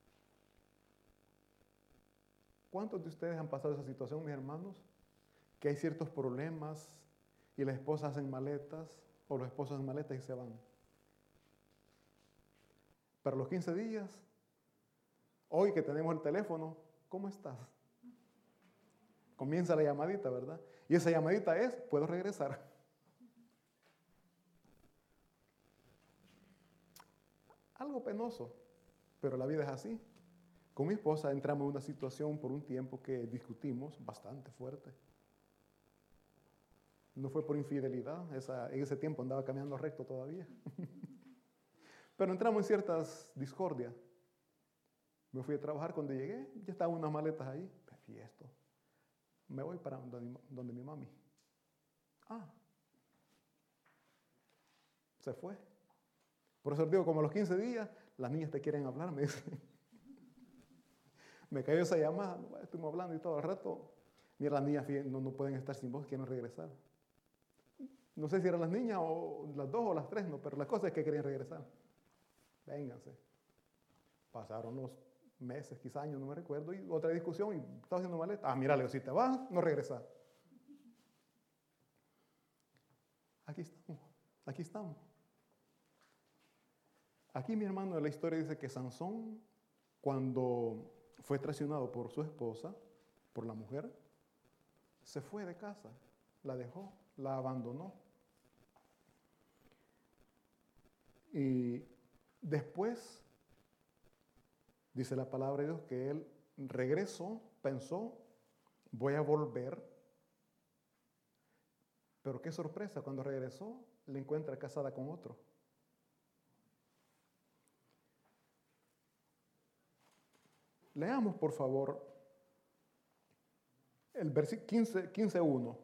¿Cuántos de ustedes han pasado esa situación, mis hermanos? Que hay ciertos problemas y las esposas hacen maletas o los esposos hacen maletas y se van. Para los 15 días, hoy que tenemos el teléfono, ¿cómo estás? Comienza la llamadita, ¿verdad? Y esa llamadita es, ¿puedo regresar? Algo penoso, pero la vida es así. Con mi esposa entramos en una situación por un tiempo que discutimos bastante fuerte. No fue por infidelidad, en ese tiempo andaba caminando recto todavía. Pero entramos en ciertas discordias. Me fui a trabajar, cuando llegué, ya estaban unas maletas ahí. Y esto, me voy para donde mi mami. Se fue. Por eso les digo, como a los 15 días, las niñas te quieren hablar, me dicen. Me cayó esa llamada, estuvimos hablando y todo el rato. Mira, las niñas no pueden estar sin vos, quieren regresar. No sé si eran las niñas o las dos o las tres, no, pero la cosa es que querían regresar. Vénganse. Pasaron los meses, quizás años, no me recuerdo, y otra discusión, y estaba haciendo maleta. Mira, Leo, si te vas, no regresas. Aquí estamos, aquí estamos. Aquí, mi hermano, la historia dice que Sansón, cuando fue traicionado por su esposa, por la mujer, se fue de casa, la dejó, la abandonó. Y después, dice la palabra de Dios, que él regresó, pensó, voy a volver. Pero qué sorpresa, cuando regresó, la encuentra casada con otro. Leamos, por favor, el versículo 15:1.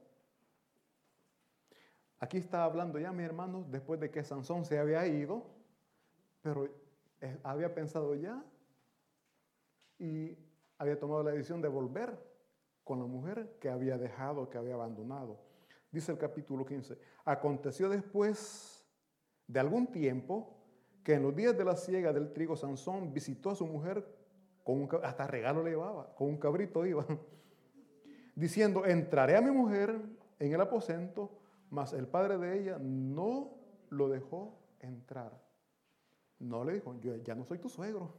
Aquí está hablando ya, mis hermanos, después de que Sansón se había ido, pero había pensado ya y había tomado la decisión de volver con la mujer que había dejado, que había abandonado. Dice el capítulo 15, aconteció después de algún tiempo que en los días de la siega del trigo, Sansón visitó a su mujer, hasta regalo le llevaba, con un cabrito iba, diciendo, entraré a mi mujer en el aposento, mas el padre de ella no lo dejó entrar. No le dijo, yo ya no soy tu suegro.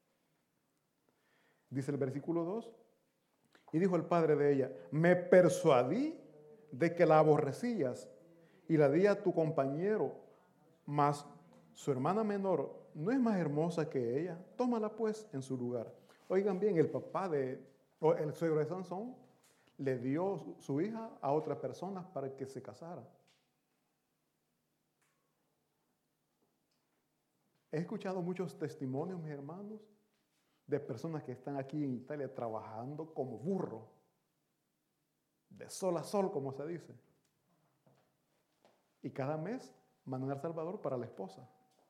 Dice el versículo 2, y dijo el padre de ella, me persuadí de que la aborrecías y la di a tu compañero, mas su hermana menor no es más hermosa que ella, tómala pues en su lugar. Oigan bien, el suegro de Sansón le dio su hija a otras personas para que se casara. He escuchado muchos testimonios, mis hermanos, de personas que están aquí en Italia trabajando como burro, de sol a sol, como se dice. Y cada mes mandan a El Salvador para la esposa.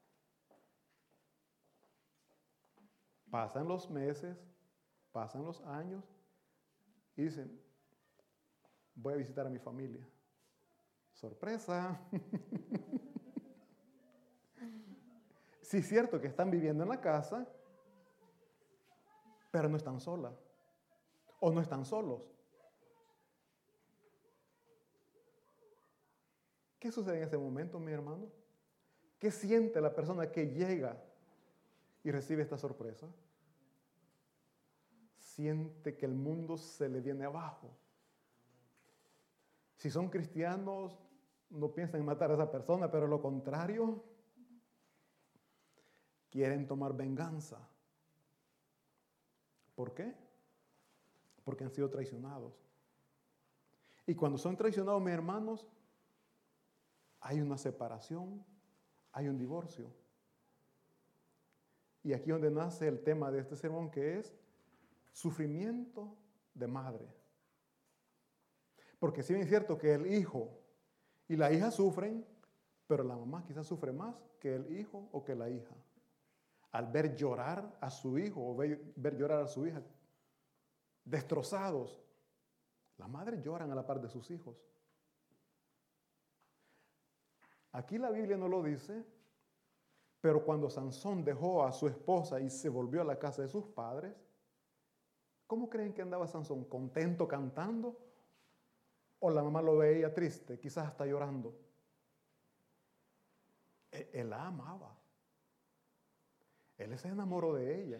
Pasan los meses, pasan los años y dicen, voy a visitar a mi familia. ¡Sorpresa! Sí es cierto que están viviendo en la casa, pero no están solas o no están solos. ¿Qué sucede en ese momento, mi hermano? ¿Qué siente la persona que llega y recibe esta sorpresa? Siente que el mundo se le viene abajo. Si son cristianos, no piensan en matar a esa persona, pero lo contrario, quieren tomar venganza. ¿Por qué? Porque han sido traicionados. Y cuando son traicionados, mis hermanos, hay una separación, hay un divorcio. Y aquí es donde nace el tema de este sermón, que es sufrimiento de madre. Porque si bien es cierto que el hijo Y las hijas sufren, pero la mamá quizás sufre más que el hijo o que la hija. Al ver llorar a su hijo o ver llorar a su hija destrozados, las madres lloran a la par de sus hijos. Aquí la Biblia no lo dice, pero cuando Sansón dejó a su esposa y se volvió a la casa de sus padres, ¿cómo creen que andaba Sansón? ¿Contento cantando? ¿O la mamá lo veía triste, quizás hasta llorando? Él la amaba. Él se enamoró de ella.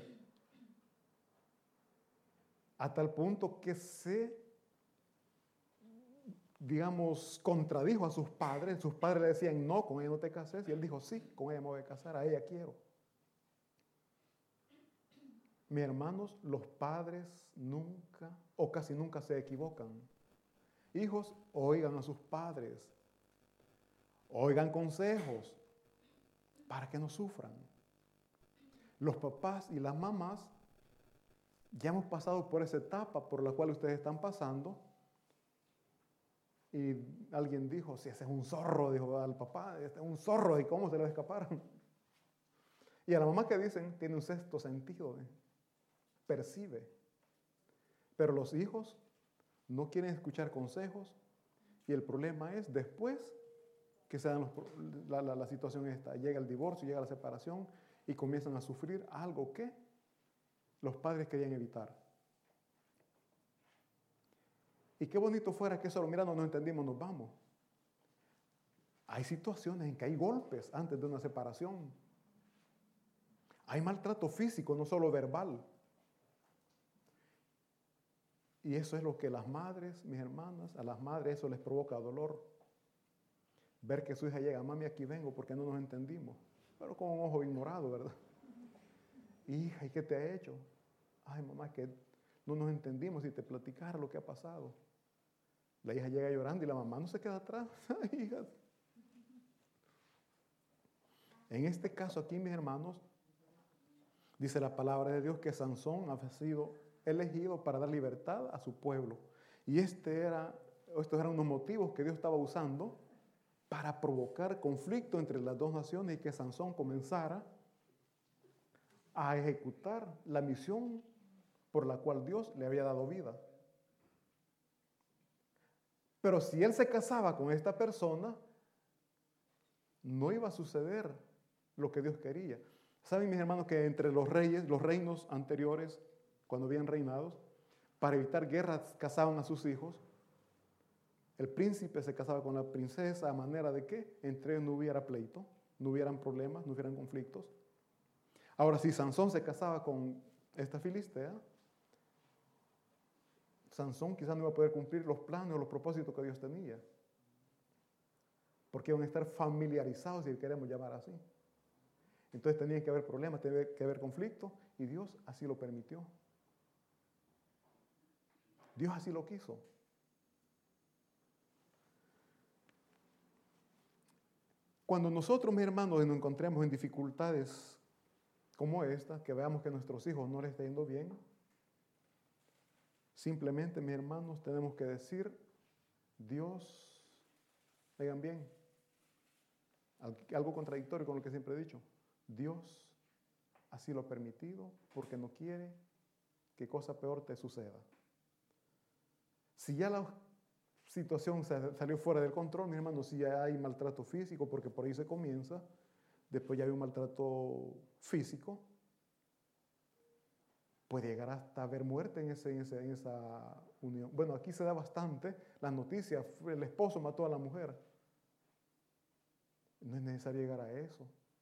A tal punto que contradijo a sus padres. Sus padres le decían, no, con ella no te cases. Y él dijo, sí, con ella me voy a casar, a ella quiero. Mis hermanos, los padres nunca o casi nunca se equivocan. Hijos, oigan a sus padres. Oigan consejos para que no sufran. Los papás y las mamás ya hemos pasado por esa etapa por la cual ustedes están pasando. Y alguien dijo, si ese es un zorro, dijo al papá, este es un zorro, ¿y cómo se le escaparon? Y a la mamá que dicen, tiene un sexto sentido, percibe. Pero los hijos no quieren escuchar consejos y el problema es después que se dan la situación esta. Llega el divorcio, llega la separación y comienzan a sufrir algo que los padres querían evitar. Y qué bonito fuera que solo, mira, no nos entendimos, nos vamos. Hay situaciones en que hay golpes antes de una separación. Hay maltrato físico, no solo verbal. Y eso es lo que las madres, mis hermanas, a las madres eso les provoca dolor. Ver que su hija llega, mami, aquí vengo porque no nos entendimos. Pero con un ojo ignorado, ¿verdad? Hija, ¿y qué te ha hecho? Ay, mamá, que no nos entendimos y te platicara lo que ha pasado. La hija llega llorando y la mamá no se queda atrás. Ay, hija. En este caso aquí, mis hermanos, dice la palabra de Dios que Sansón ha sido elegido para dar libertad a su pueblo. Y estos eran unos motivos que Dios estaba usando para provocar conflicto entre las dos naciones y que Sansón comenzara a ejecutar la misión por la cual Dios le había dado vida. Pero si él se casaba con esta persona, no iba a suceder lo que Dios quería. ¿Saben, mis hermanos, que entre los reinos anteriores, cuando habían reinados, para evitar guerras casaban a sus hijos? El príncipe se casaba con la princesa a manera de que entre ellos no hubiera pleito, no hubieran problemas, no hubieran conflictos. Ahora, si Sansón se casaba con esta filistea, Sansón quizás no iba a poder cumplir los planes o los propósitos que Dios tenía. Porque iban a estar familiarizados, si queremos llamar así. Entonces tenía que haber problemas, tenía que haber conflicto, y Dios así lo permitió. Dios así lo quiso. Cuando nosotros, mis hermanos, nos encontremos en dificultades como esta, que veamos que a nuestros hijos no les está yendo bien, simplemente, mis hermanos, tenemos que decir, Dios, oigan bien, algo contradictorio con lo que siempre he dicho, Dios así lo ha permitido porque no quiere que cosa peor te suceda. Si ya la situación salió fuera del control, mis hermanos, si ya hay maltrato físico, porque por ahí se comienza, después ya hay un maltrato físico, puede llegar hasta haber muerte en esa unión. Bueno, aquí se da bastante las noticias, el esposo mató a la mujer. No es necesario llegar a eso.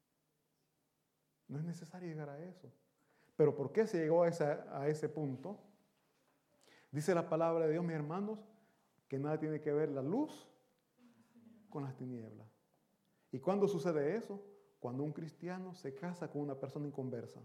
No es necesario llegar a eso. Pero ¿por qué se llegó a ese punto? Dice la palabra de Dios, mis hermanos, que nada tiene que ver la luz con las tinieblas. ¿Y cuándo sucede eso? Cuando un cristiano se casa con una persona inconversa.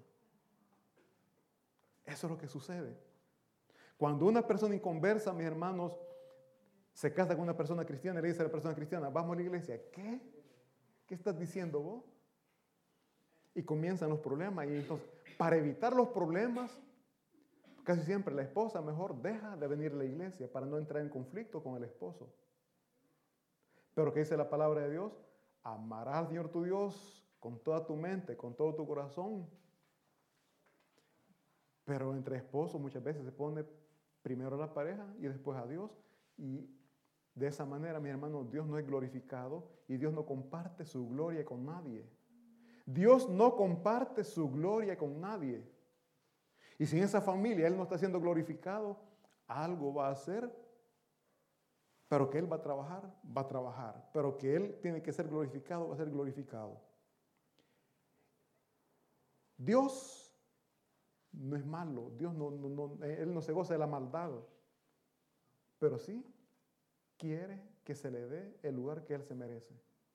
Eso es lo que sucede. Cuando una persona inconversa, mis hermanos, se casa con una persona cristiana y le dice a la persona cristiana, vamos a la iglesia. ¿Qué? ¿Qué estás diciendo vos? Y comienzan los problemas. Y entonces, para evitar los problemas, casi siempre la esposa mejor deja de venir a la iglesia para no entrar en conflicto con el esposo. Pero ¿qué dice la palabra de Dios? Amarás al Señor tu Dios con toda tu mente, con todo tu corazón. Pero entre esposos muchas veces se pone primero a la pareja y después a Dios. Y de esa manera, mi hermano, Dios no es glorificado y Dios no comparte su gloria con nadie. Dios no comparte su gloria con nadie. Y si en esa familia Él no está siendo glorificado, algo va a hacer. Pero que Él va a trabajar. Pero que Él tiene que ser glorificado, va a ser glorificado. Dios no es malo. Dios Él no se goza de la maldad. Pero sí quiere que se le dé el lugar que Él se merece.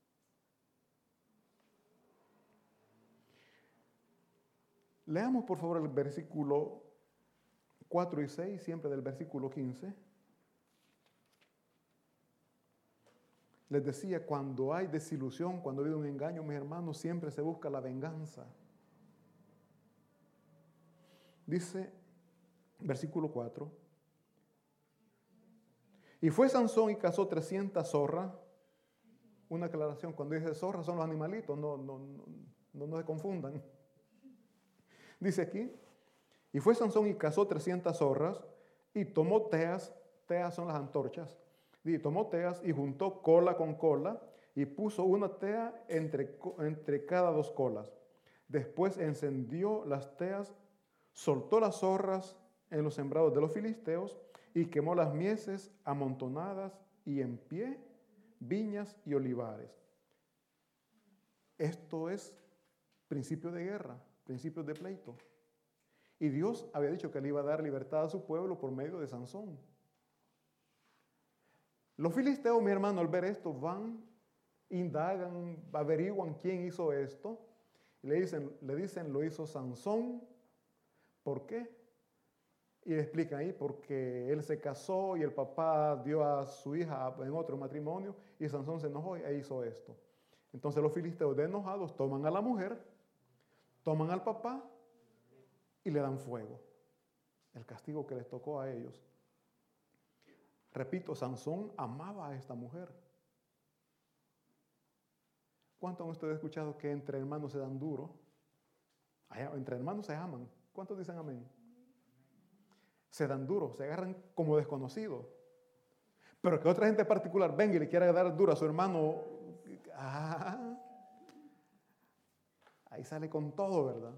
Leamos por favor el versículo 4 y 6, siempre del versículo 15. Les decía, cuando hay desilusión, cuando ha habido un engaño, mis hermanos, siempre se busca la venganza. Dice, versículo 4. Y fue Sansón y cazó 300 zorras. Una aclaración, cuando dice zorras son los animalitos, no se confundan. Dice aquí, y fue Sansón y cazó 300 zorras y tomó teas son las antorchas, y tomó teas y juntó cola con cola y puso una tea entre cada dos colas. Después encendió las teas, soltó las zorras en los sembrados de los filisteos y quemó las mieses amontonadas y en pie, viñas y olivares. Esto es principio de guerra, principios de pleito. Y Dios había dicho que le iba a dar libertad a su pueblo por medio de Sansón. Los filisteos, mi hermano, al ver esto, van, indagan, averiguan quién hizo esto. Y le dicen, lo hizo Sansón. ¿Por qué? Y le explican ahí, porque él se casó y el papá dio a su hija en otro matrimonio y Sansón se enojó e hizo esto. Entonces los filisteos, de enojados, toman a la mujer, toman al papá y le dan fuego. El castigo que les tocó a ellos. Repito, Sansón amaba a esta mujer. ¿Cuántos han ustedes escuchado que entre hermanos se dan duro? Entre hermanos se aman. ¿Cuántos dicen amén? Se dan duro, se agarran como desconocidos. Pero que otra gente particular venga y le quiera dar duro a su hermano, ahí sale con todo, ¿verdad?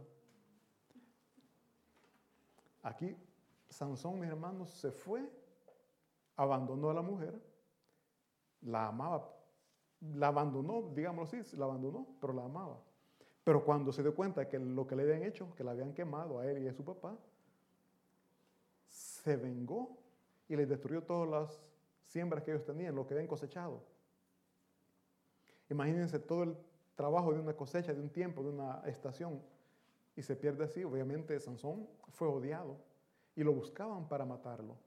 Aquí Sansón, mis hermanos, se fue, abandonó a la mujer, la amaba, la abandonó, digámoslo así, la abandonó, pero la amaba. Pero cuando se dio cuenta que lo que le habían hecho, que la habían quemado a él y a su papá, se vengó y les destruyó todas las siembras que ellos tenían, lo que habían cosechado. Imagínense todo el trabajo de una cosecha, de un tiempo, de una estación, y se pierde así. Obviamente Sansón fue odiado y lo buscaban para matarlo.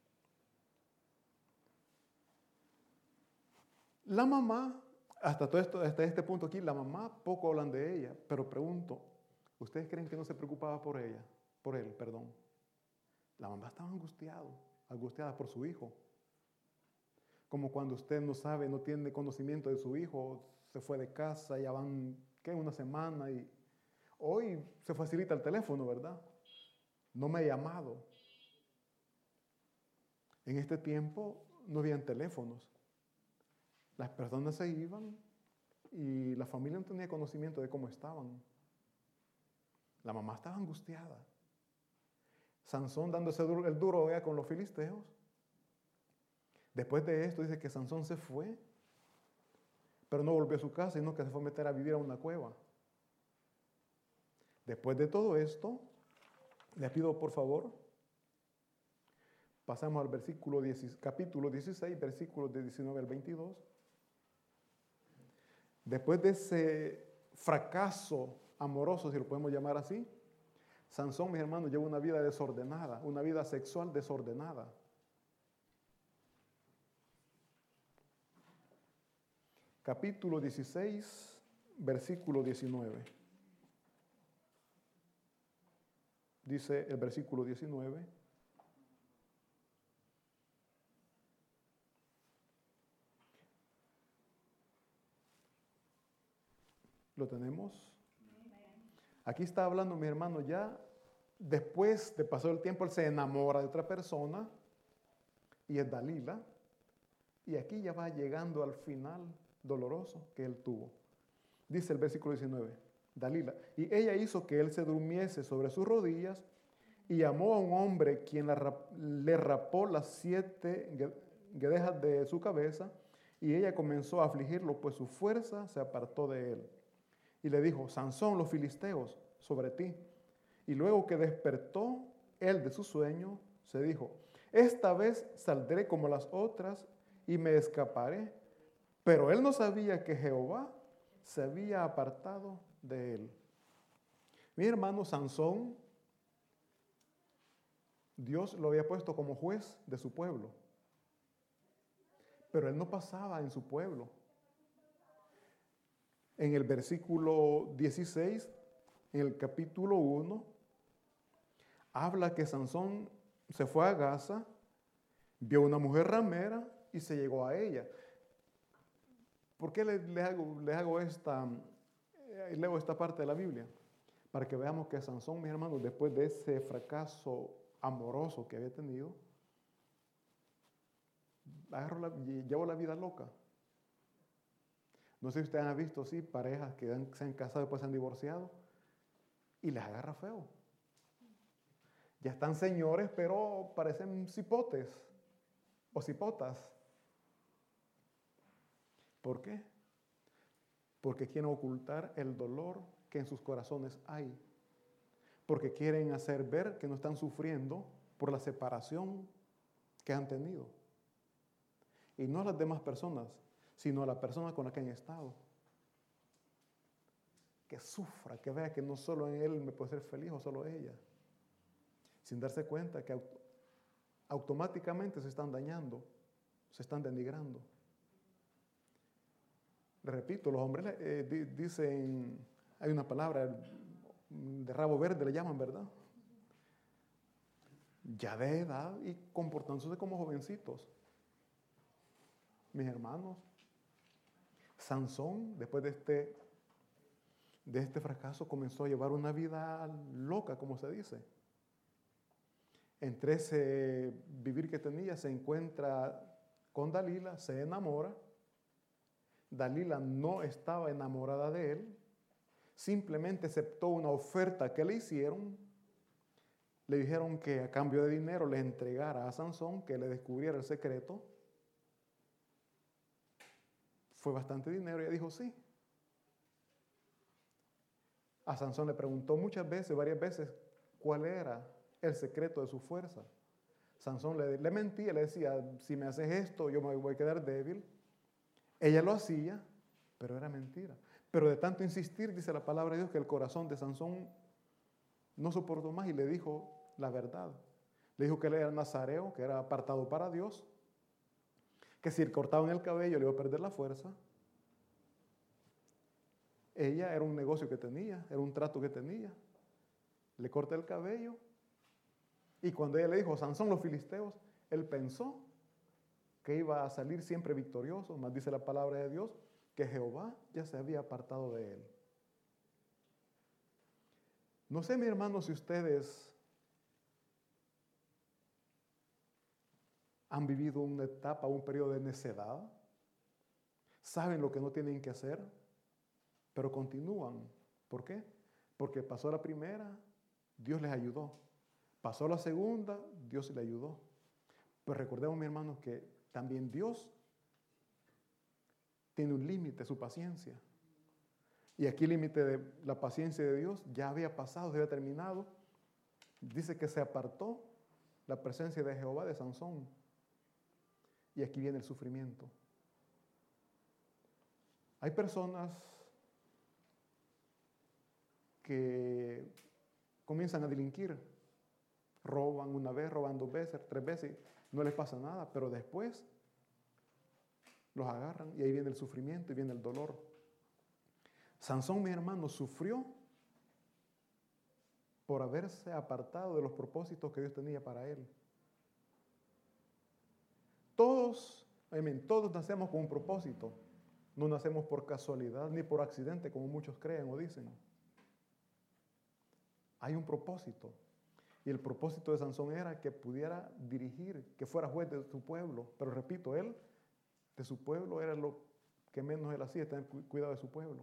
La mamá, hasta este punto aquí, la mamá poco hablan de ella, pero pregunto, ¿ustedes creen que no se preocupaba por él? La mamá estaba angustiada por su hijo. Como cuando usted no sabe, no tiene conocimiento de su hijo, se fue de casa, ya van, una semana y hoy se facilita el teléfono, ¿verdad? No me ha llamado. En este tiempo no habían teléfonos. Las personas se iban y la familia no tenía conocimiento de cómo estaban. La mamá estaba angustiada. Sansón dándose el duro con los filisteos. Después de esto dice que Sansón se fue, pero no volvió a su casa, sino que se fue a meter a vivir a una cueva. Después de todo esto, les pido por favor, pasamos al capítulo 16, versículos de 19 al 22. Después de ese fracaso amoroso, si lo podemos llamar así, Sansón, mis hermanos, lleva una vida desordenada, una vida sexual desordenada. Capítulo 16, versículo 19. Dice el versículo 19. ¿Lo tenemos? Aquí está hablando mi hermano ya, después de pasar el tiempo, él se enamora de otra persona, y es Dalila, y aquí ya va llegando al final doloroso que él tuvo. Dice el versículo 19, Dalila, y ella hizo que él se durmiese sobre sus rodillas, y llamó a un hombre quien le rapó las 7 guedejas de su cabeza, y ella comenzó a afligirlo, pues su fuerza se apartó de él. Y le dijo, Sansón, los filisteos sobre ti. Y luego que despertó él de su sueño, se dijo, esta vez saldré como las otras y me escaparé. Pero él no sabía que Jehová se había apartado de él. Mi hermano Sansón, Dios lo había puesto como juez de su pueblo. Pero él no pasaba en su pueblo. En el versículo 16, en el capítulo 1, habla que Sansón se fue a Gaza, vio una mujer ramera y se llegó a ella. ¿Por qué leo esta parte de la Biblia? Para que veamos que Sansón, mis hermanos, después de ese fracaso amoroso que había tenido, llevó la vida loca. No sé si ustedes han visto, sí, parejas que se han casado y después se han divorciado y les agarra feo. Ya están señores, pero parecen cipotes o cipotas. ¿Por qué? Porque quieren ocultar el dolor que en sus corazones hay. Porque quieren hacer ver que no están sufriendo por la separación que han tenido. Y no a las demás personas, sino a la persona con la que han estado. Que sufra, que vea que no solo en él me puede ser feliz o solo ella. Sin darse cuenta que automáticamente se están dañando, se están denigrando. Le repito, los hombres dicen, hay una palabra de rabo verde, le llaman, ¿verdad? Ya de edad y comportándose como jovencitos. Mis hermanos, Sansón, después de este fracaso, comenzó a llevar una vida loca, como se dice. Entre ese vivir que tenía, se encuentra con Dalila, se enamora. Dalila no estaba enamorada de él, simplemente aceptó una oferta que le hicieron. Le dijeron que a cambio de dinero le entregara a Sansón, que le descubriera el secreto. Fue bastante dinero y ella dijo sí. A Sansón le preguntó varias veces, cuál era el secreto de su fuerza. Sansón le mentía, le decía, si me haces esto, yo me voy a quedar débil. Ella lo hacía, pero era mentira. Pero de tanto insistir, dice la palabra de Dios, que el corazón de Sansón no soportó más y le dijo la verdad. Le dijo que él era nazareo, que era apartado para Dios, que si le cortaban el cabello le iba a perder la fuerza. Ella era un negocio que tenía, era un trato que tenía. Le corta el cabello y cuando ella le dijo, Sansón, los filisteos, él pensó que iba a salir siempre victorioso, más dice la palabra de Dios, que Jehová ya se había apartado de él. No sé, mi hermano, si ustedes han vivido una etapa, un periodo de necedad, saben lo que no tienen que hacer, pero continúan. ¿Por qué? Porque pasó la primera, Dios les ayudó. Pasó la segunda, Dios le ayudó. Pues recordemos, mi hermano, que también Dios tiene un límite, su paciencia. Y aquí el límite de la paciencia de Dios ya había pasado, se había terminado. Dice que se apartó la presencia de Jehová de Sansón. Y aquí viene el sufrimiento. Hay personas que comienzan a delinquir. Roban una vez, roban 2 veces, 3 veces, no les pasa nada, pero después los agarran y ahí viene el sufrimiento y viene el dolor. Sansón, mi hermano, sufrió por haberse apartado de los propósitos que Dios tenía para él. Todos nacemos con un propósito. No nacemos por casualidad ni por accidente, como muchos creen o dicen. Hay un propósito. Y el propósito de Sansón era que pudiera dirigir, que fuera juez de su pueblo. Pero repito, él, de su pueblo, era lo que menos él hacía, tener cuidado de su pueblo.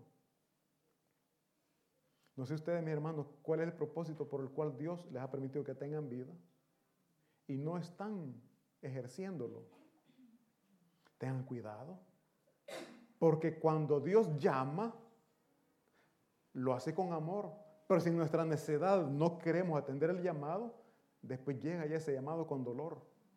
No sé ustedes, mis hermanos, cuál es el propósito por el cual Dios les ha permitido que tengan vida y no están ejerciéndolo. Tengan cuidado, porque cuando Dios llama, lo hace con amor. Pero si en nuestra necedad no queremos atender el llamado, después llega ya ese llamado con dolor.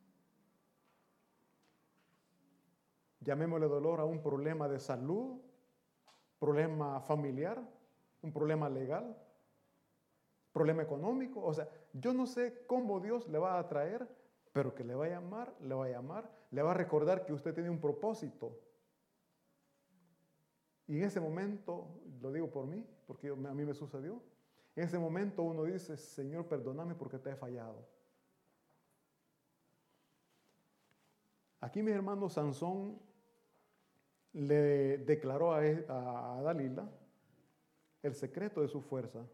Llamémosle dolor a un problema de salud, problema familiar, un problema legal, problema económico. O sea, yo no sé cómo Dios le va a traer, pero que le va a llamar, le va a llamar, le va a recordar que usted tiene un propósito. Y en ese momento, lo digo por mí, porque a mí me sucedió, en ese momento uno dice, Señor, perdóname porque te he fallado. Aquí, mis hermanos, Sansón le declaró a Dalila el secreto de su fuerza.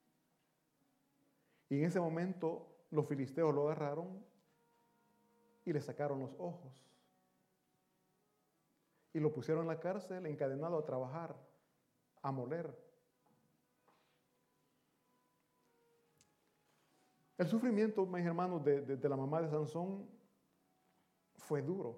Y en ese momento los filisteos lo agarraron y le sacaron los ojos. Y lo pusieron en la cárcel, encadenado a trabajar, a moler. El sufrimiento, mis hermanos, de la mamá de Sansón fue duro.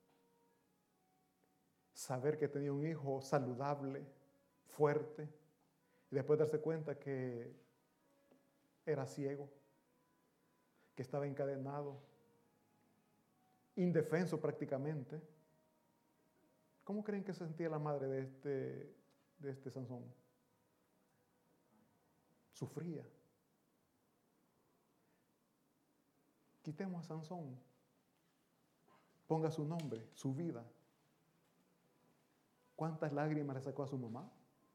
Saber que tenía un hijo saludable, fuerte, y después darse cuenta que era ciego, que estaba encadenado, indefenso prácticamente. ¿Cómo creen que se sentía la madre de este Sansón? Sufría. Quitemos a Sansón. Ponga su nombre, su vida. ¿Cuántas lágrimas le sacó a su mamá?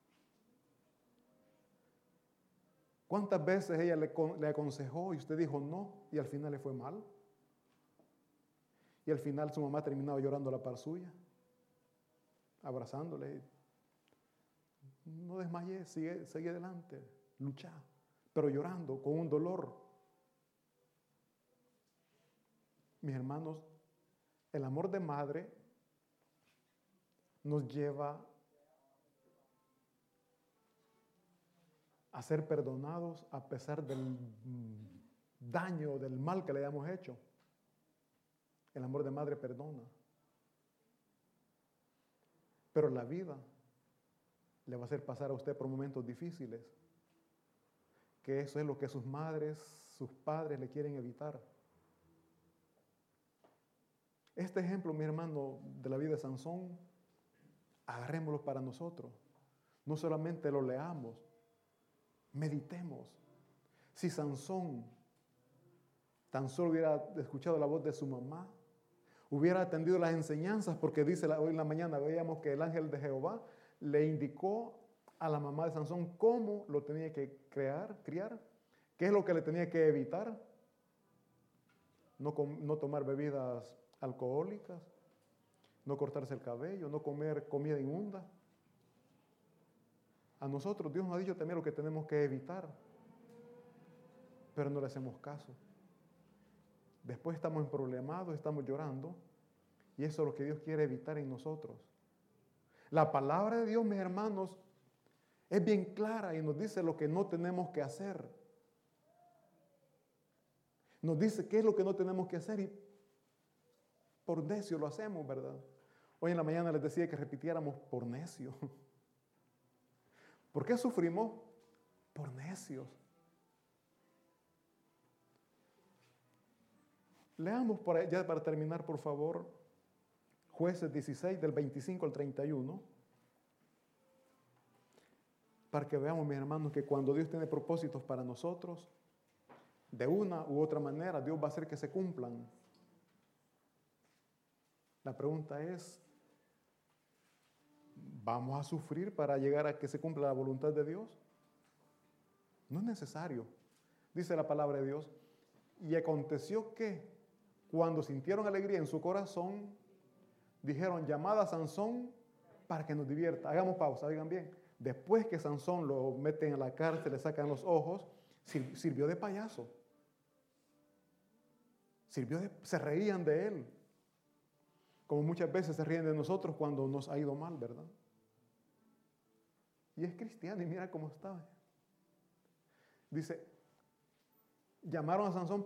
¿Cuántas veces ella le aconsejó y usted dijo no y al final le fue mal? Y al final su mamá terminaba llorando a la par suya, abrazándole. No desmayé, sigue adelante, lucha, pero llorando, con un dolor. Mis hermanos, el amor de madre nos lleva a ser perdonados a pesar del daño, del mal que le hayamos hecho. El amor de madre perdona. Pero la vida le va a hacer pasar a usted por momentos difíciles, que eso es lo que sus madres, sus padres le quieren evitar. Este ejemplo, mi hermano, de la vida de Sansón, agarrémoslo para nosotros. No solamente lo leamos, meditemos. Si Sansón tan solo hubiera escuchado la voz de su mamá, hubiera atendido las enseñanzas, porque dice hoy en la mañana veíamos que el ángel de Jehová le indicó a la mamá de Sansón cómo lo tenía que criar, qué es lo que le tenía que evitar, no tomar bebidas alcohólicas, no cortarse el cabello, no comer comida inmunda. A nosotros Dios nos ha dicho también lo que tenemos que evitar, pero no le hacemos caso. Después estamos emproblemados, estamos llorando, y eso es lo que Dios quiere evitar en nosotros. La palabra de Dios, mis hermanos, es bien clara y nos dice lo que no tenemos que hacer. Nos dice qué es lo que no tenemos que hacer y por necio lo hacemos, ¿verdad? Hoy en la mañana les decía que repitiéramos por necio. ¿Por qué sufrimos? Por necios. Leamos ya para terminar, por favor, Jueces 16, del 25 al 31, para que veamos, mis hermanos, que cuando Dios tiene propósitos para nosotros, de una u otra manera, Dios va a hacer que se cumplan. La pregunta es, ¿vamos a sufrir para llegar a que se cumpla la voluntad de Dios? No es necesario. Dice la palabra de Dios, y aconteció que cuando sintieron alegría en su corazón, dijeron, llamad a Sansón para que nos divierta. Hagamos pausa, oigan bien. Después que Sansón lo meten en la cárcel, le sacan los ojos, sirvió de payaso. Se reían de él. Como muchas veces se ríen de nosotros cuando nos ha ido mal, ¿verdad? Y es cristiano y mira cómo está. Dice, llamada a Sansón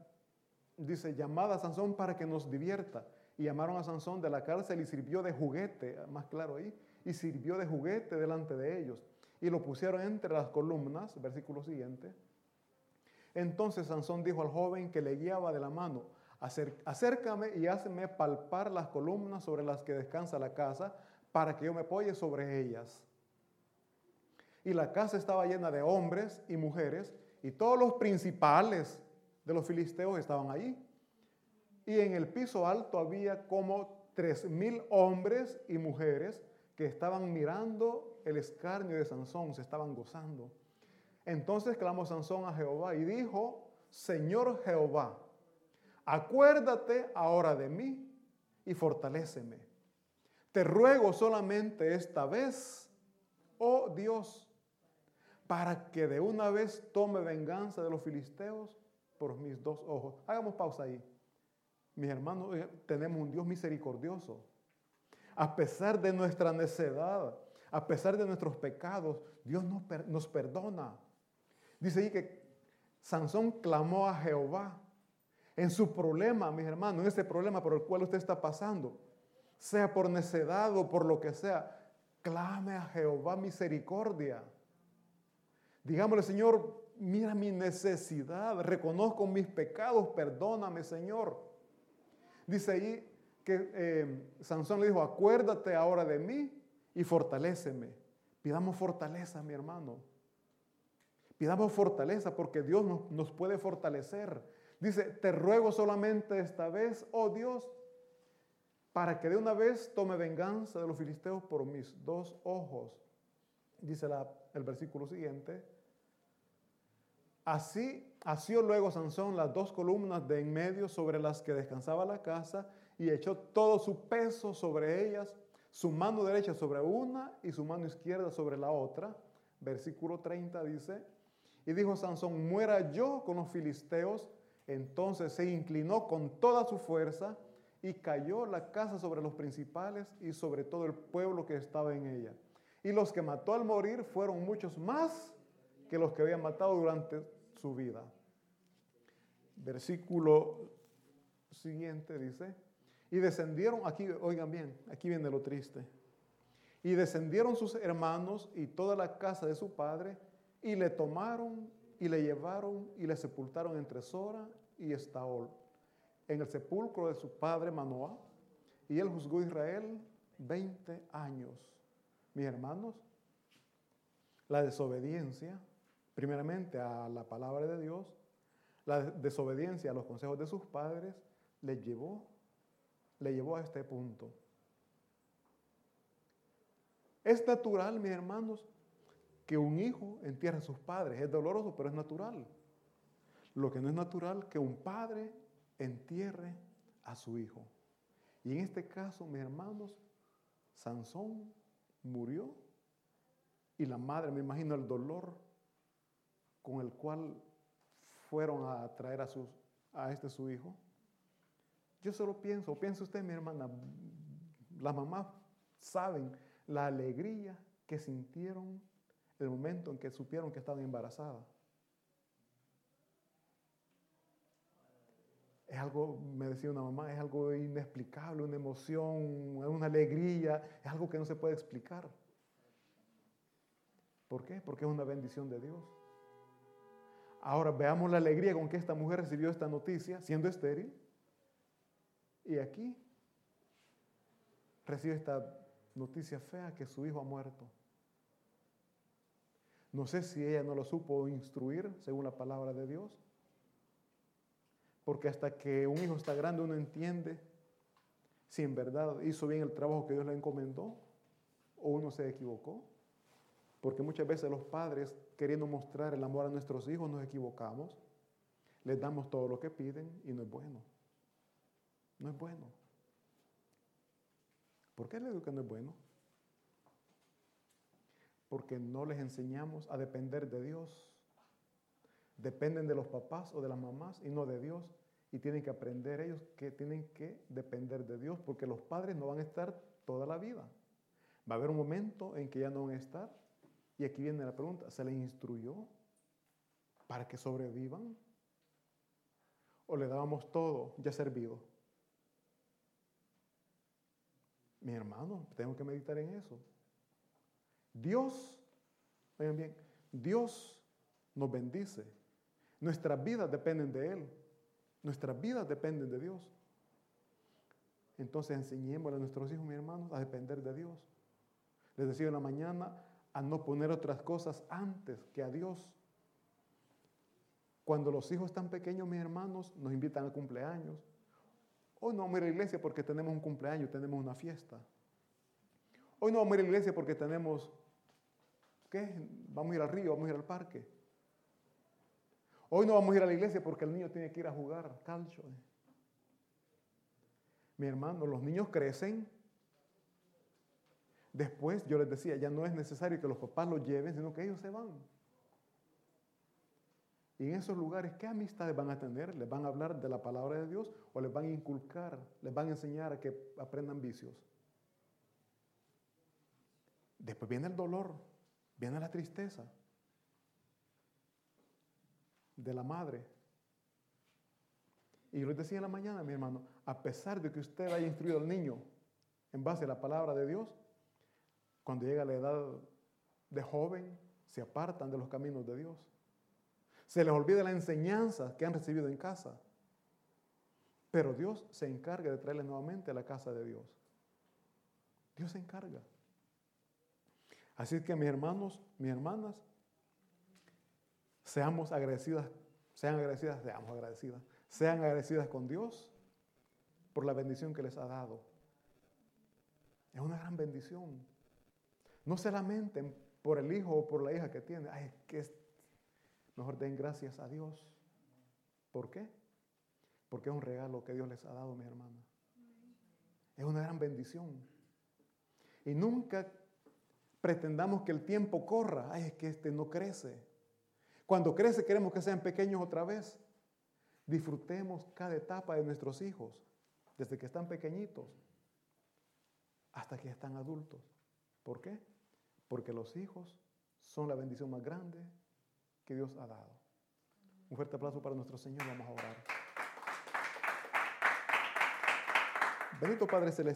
para que nos divierta. Y llamaron a Sansón de la cárcel y sirvió de juguete, más claro ahí, y sirvió de juguete delante de ellos. Y lo pusieron entre las columnas, versículo siguiente. Entonces Sansón dijo al joven que le guiaba de la mano, acércame y hazme palpar las columnas sobre las que descansa la casa, para que yo me apoye sobre ellas. Y la casa estaba llena de hombres y mujeres, y todos los principales de los filisteos estaban allí. Y en el piso alto había como 3,000 hombres y mujeres que estaban mirando el escarnio de Sansón, se estaban gozando. Entonces clamó Sansón a Jehová y dijo, Señor Jehová, acuérdate ahora de mí y fortaléceme. Te ruego solamente esta vez, oh Dios, para que de una vez tome venganza de los filisteos por mis 2 ojos. Hagamos pausa ahí. Mis hermanos, tenemos un Dios misericordioso. A pesar de nuestra necedad, a pesar de nuestros pecados, Dios nos perdona. Dice ahí que Sansón clamó a Jehová en su problema, mis hermanos, en ese problema por el cual usted está pasando, sea por necedad o por lo que sea, clame a Jehová misericordia. Digámosle, Señor, mira mi necesidad, reconozco mis pecados, perdóname, Señor. Dice ahí que Sansón le dijo, acuérdate ahora de mí y fortaléceme. Pidamos fortaleza, mi hermano. Pidamos fortaleza porque Dios nos puede fortalecer. Dice, te ruego solamente esta vez, oh Dios, para que de una vez tome venganza de los filisteos por mis 2 ojos. Dice el versículo siguiente. Así asió luego Sansón las 2 columnas de en medio sobre las que descansaba la casa y echó todo su peso sobre ellas, su mano derecha sobre una y su mano izquierda sobre la otra. Versículo 30 dice, y dijo Sansón, muera yo con los filisteos. Entonces se inclinó con toda su fuerza y cayó la casa sobre los principales y sobre todo el pueblo que estaba en ella. Y los que mató al morir fueron muchos más que los que habían matado durante su vida. Versículo siguiente dice, y descendieron, aquí oigan bien, aquí viene lo triste, y descendieron sus hermanos y toda la casa de su padre, y le tomaron y le llevaron y le sepultaron entre Sora y Estaol, en el sepulcro de su padre Manoah, y él juzgó a Israel 20 años. Mis hermanos, la desobediencia, primeramente a la palabra de Dios, la desobediencia a los consejos de sus padres, le llevó a este punto. Es natural, mis hermanos, que un hijo entierre a sus padres. Es doloroso, pero es natural. Lo que no es natural, que un padre entierre a su hijo. Y en este caso, mis hermanos, Sansón murió y la madre, me imagino el dolor con el cual fueron a traer a su hijo. Yo solo piense usted, mi hermana, las mamás saben la alegría que sintieron el momento en que supieron que estaban embarazadas. Es algo, me decía una mamá, es algo inexplicable, una emoción, una alegría, es algo que no se puede explicar. ¿Por qué? Porque es una bendición de Dios. Ahora veamos la alegría con que esta mujer recibió esta noticia, siendo estéril. Y aquí recibe esta noticia fea que su hijo ha muerto. No sé si ella no lo supo instruir según la palabra de Dios. Porque hasta que un hijo está grande uno entiende si en verdad hizo bien el trabajo que Dios le encomendó o uno se equivocó. Porque muchas veces los padres, queriendo mostrar el amor a nuestros hijos, nos equivocamos. Les damos todo lo que piden y no es bueno. No es bueno. ¿Por qué le digo que no es bueno? porque no les enseñamos a depender de Dios. Dependen de los papás o de las mamás y no de Dios. Y tienen que aprender ellos que tienen que depender de Dios, porque los padres no van a estar toda la vida. Va a haber un momento en que ya no van a estar. Y aquí viene la pregunta, ¿se les instruyó para que sobrevivan? ¿O le dábamos todo ya servido? Mi hermano, tengo que meditar en eso. Dios, oigan bien, Dios nos bendice. Nuestras vidas dependen de Él. Nuestras vidas dependen de Dios. Entonces enseñémosle a nuestros hijos, mis hermanos, a depender de Dios. Les decía en la mañana, a no poner otras cosas antes que a Dios. Cuando los hijos están pequeños, mis hermanos, nos invitan a cumpleaños. Hoy no vamos a ir a la iglesia porque tenemos un cumpleaños, tenemos una fiesta. Hoy no vamos a ir a la iglesia porque tenemos, ¿qué? Vamos a ir al río, vamos a ir al parque. Hoy no vamos a ir a la iglesia porque el niño tiene que ir a jugar calcio. Mi hermano, los niños crecen. Después, yo les decía, ya no es necesario que los papás los lleven, sino que ellos se van. Y en esos lugares, ¿qué amistades van a tener? ¿Les van a hablar de la palabra de Dios o les van a inculcar, les van a enseñar a que aprendan vicios? Después viene el dolor, viene la tristeza de la madre. Y yo les decía en la mañana, mi hermano, a pesar de que usted haya instruido al niño en base a la palabra de Dios, cuando llega a la edad de joven, se apartan de los caminos de Dios. Se les olvida la enseñanza que han recibido en casa. Pero Dios se encarga de traerles nuevamente a la casa de Dios. Dios se encarga. Así que mis hermanos, mis hermanas, seamos agradecidas, sean agradecidas con Dios por la bendición que les ha dado. Es una gran bendición. No se lamenten por el hijo o por la hija que tienen. Ay, mejor den gracias a Dios. ¿Por qué? Porque es un regalo que Dios les ha dado, mis hermanas. Es una gran bendición. Y nunca pretendamos que el tiempo corra. Ay, es que este no crece. Cuando crece queremos que sean pequeños otra vez. Disfrutemos cada etapa de nuestros hijos, desde que están pequeñitos hasta que están adultos. ¿Por qué? Porque los hijos son la bendición más grande que Dios ha dado. Un fuerte aplauso para nuestro Señor. Vamos a orar. Bendito Padre Celestial.